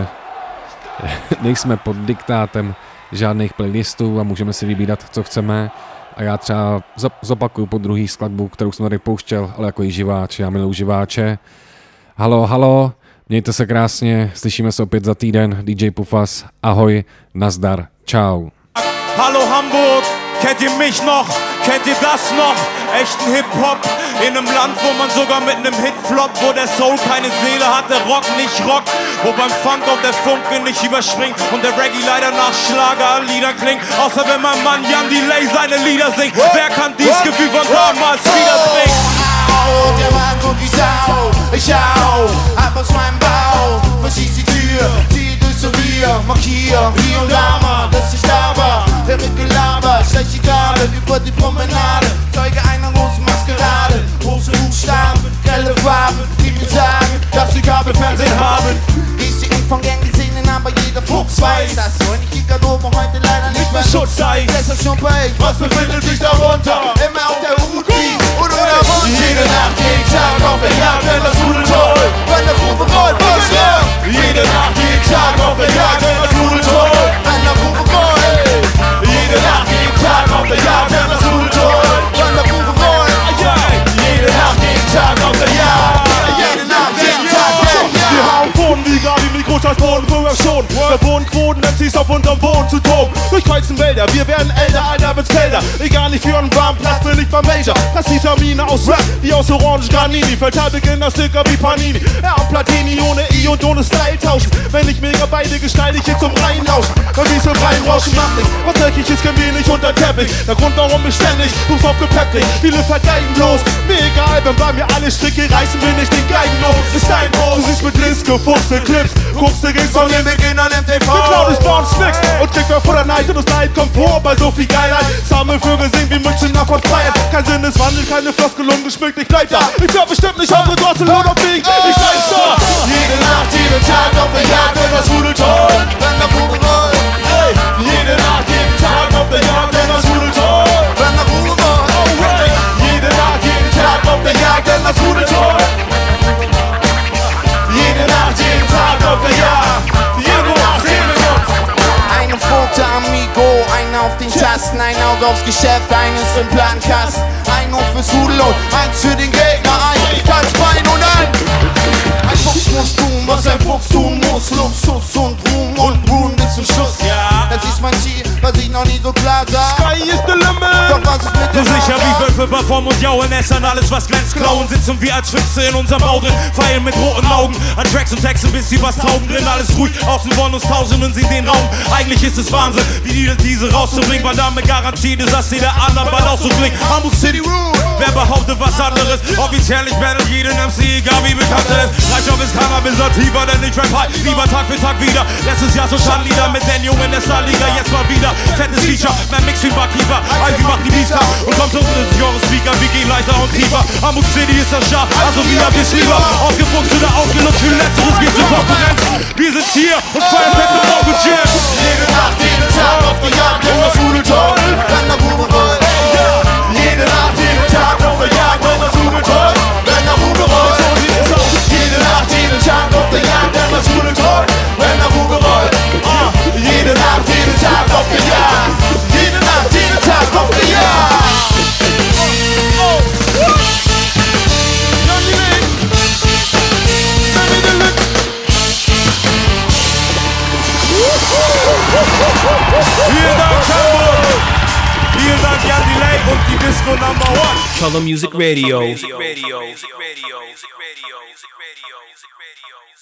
nejsme pod diktátem žádných playlistů a můžeme si vybírat, co chceme. A já třeba zopakuju po druhý skladbu, kterou jsem tady pouštěl, ale jako i živáč, já miluji živáče. Halo, mějte se krásně, slyšíme se opět za týden, DJ Pufas, ahoj, nazdar, čau. Hallo Hamburg, kennt ihr mich noch? Kennt ihr das noch? Echten Hip-Hop in einem Land, wo man sogar mit einem Hit floppt, wo der Soul keine Seele hat, der Rock nicht rockt, wo beim Funk auch der Funke nicht überspringt und der Reggae leider nach Schlagerliedern klingt, außer wenn mein Mann Jan Delay seine Lieder singt. Wer kann dies Gefühl von damals wiederbringen? Der Mann kommt wie Sau, ich auch, ab aus meinem Bau, verschieß die Tür, zieh durchs Revier, markier hier und da mal, dass ich da war, der mit Gelaber, schlecht die Garde, über die Promenade, Zeuge einer großen Maskerade, große Buchstaben, grelle Farben, die mir sagen, dass sie Kabelfernsehen haben, ich sie von gern gesehen, aber jeder Fuchs weiß, dass freundliche Garderobe heute leider nicht mehr Schutz sei. Station bei, was befindet sich darunter? Immer auf der Hut liegt und oder Wunsch. Jede Nacht, jeden Tag auf der Jagd, wenn das Rudel toll, wenn der Grube rollt, was ja? Jede Nacht, jeden Tag auf der Jagd, wenn das Rudel toll, wenn der Grube rollt. Jede Nacht, jeden Tag auf der Jagd, wenn das Rudel toll, wenn der Grube rollt. Jede Nacht, jeden Tag auf der Jagd, jede Nacht, jeden Tag. Wir haben Boden wie Gabi, Mikros als Boden früher schon. Wir Bodenquoten, MCs auf unterm Boden zu toben. Durchkreuzen Wälder, wir werden älter, Alter wird's kälter. Egal, nicht für einen warmen Platz, bin ich beim Major. Das Vitamine aus Rap, wie aus Orange Granini. Verteilbeginner Sticker wie Panini. Ja, und Platini ohne I und ohne Style tauschen. Wenn ich mega beide gestalte, ich hier zum Reinlauschen. Weil wie so reinrauschen macht nicht. Was Löchiges können wir nicht unter Teppich. Der Grund, warum ich ständig Fuß aufgepeppt krieg. Viele vergeigen bloß. Mir egal, wenn bei mir alle Stricke reißen, bin ich den Geigen los. Ist dein Groß. Du siehst mit Links gefuchste Clips. Guckst du gegen von den Beginnern MTV. Geklaut ist bei uns nix. Und kriegt wer vor der Neid und das Leid kommt vor bei so viel Geilheit. Sammelvögel singen wie Münchner von Freiheit. Kein Sinneswandel, keine Floskel ungeschmückt, ich bleib da. Ich glaub bestimmt nicht eure Drossel und auf Weg. Ich bleib da. Jede Nacht, jeden Tag auf der Jagd, wenn das Rudel toll, wenn der Bube rollt. Hey. Jede Nacht, jeden Tag auf der Jagd, wenn das Rudel toll, wenn der Bube rollt. Oh, hey. Jede Nacht, jeden Tag auf der Jagd, wenn das Rudel toll. Jede Nacht, jeden Tag auf der Jagd. Jede Nacht, jeden Tag. Eine Pfote Amigo, eine auf den Tasten, ein Auge aufs Geschäft, eines im Plankasten. Ein Hof fürs Rudel und eins für den Gegner, ein Tanzbein und ein Fuchs muss tun, was ein Fuchs tun muss. Luxus und Ruhm und Ruhm bis zum Schluss. Ja, das ist mein Ziel, was ich noch nie so klar sah. Sky is the limit. Doch was ist mit so sicher wie Wölfe performen und jaulen, essern alles was glänzt, klauen. Sitzen wir als Füchse in unserem Bau drin, feilen mit roten Augen an Tracks und Texten, bis sie was taugen drin. Alles ruhig, außen wollen uns Tausenden sie den Raum. Eigentlich ist es Wahnsinn, wie diese rauszubringen. Madame Garantie, dass sie der anderen bald auch so klingt. Hamburg City Road, wer behauptet was anderes? Offiziell nicht battle jeden MC, egal wie bekannt er ist. Reichhoff ist Hammer, bis er tiefer, denn ich rap high. Lieber Tag für Tag wieder. Letztes Jahr so Schandlieder mit den Jungen der Starliga. Jetzt mal wieder fettes Feature, mehr Mix wie Barkeeper. Ivy macht die Beats und kommt unten ins Jahres-Speaker. Wir gehen leichter und tiefer. Hamburg City ist das Schaf, also wie habt ihr's lieber? Ausgefuchst oder ausgenutzt für Letzteres geht zur Konkurrenz. Wir sind hier und feiern fest im Auge Jam. Jede Nacht, jeden Tag auf der Jagd, wenn das Rudel toll, wenn der Bube rollt. Jede Nacht, jeden Tag auf der Jagd, wenn das Rudel toll, wenn der Bube rollt. Jede Nacht, jeden Tag auf der Jagd, wenn das Rudel toll, wenn der Bube rollt. Jede Nacht, jeden Tag auf der Jagd. Jede Nacht, jeden Tag auf der Jagd. Vielen Dank, Hamburg! Vielen Dank, Jan Delay und die Disco Number One. Color Music Radio.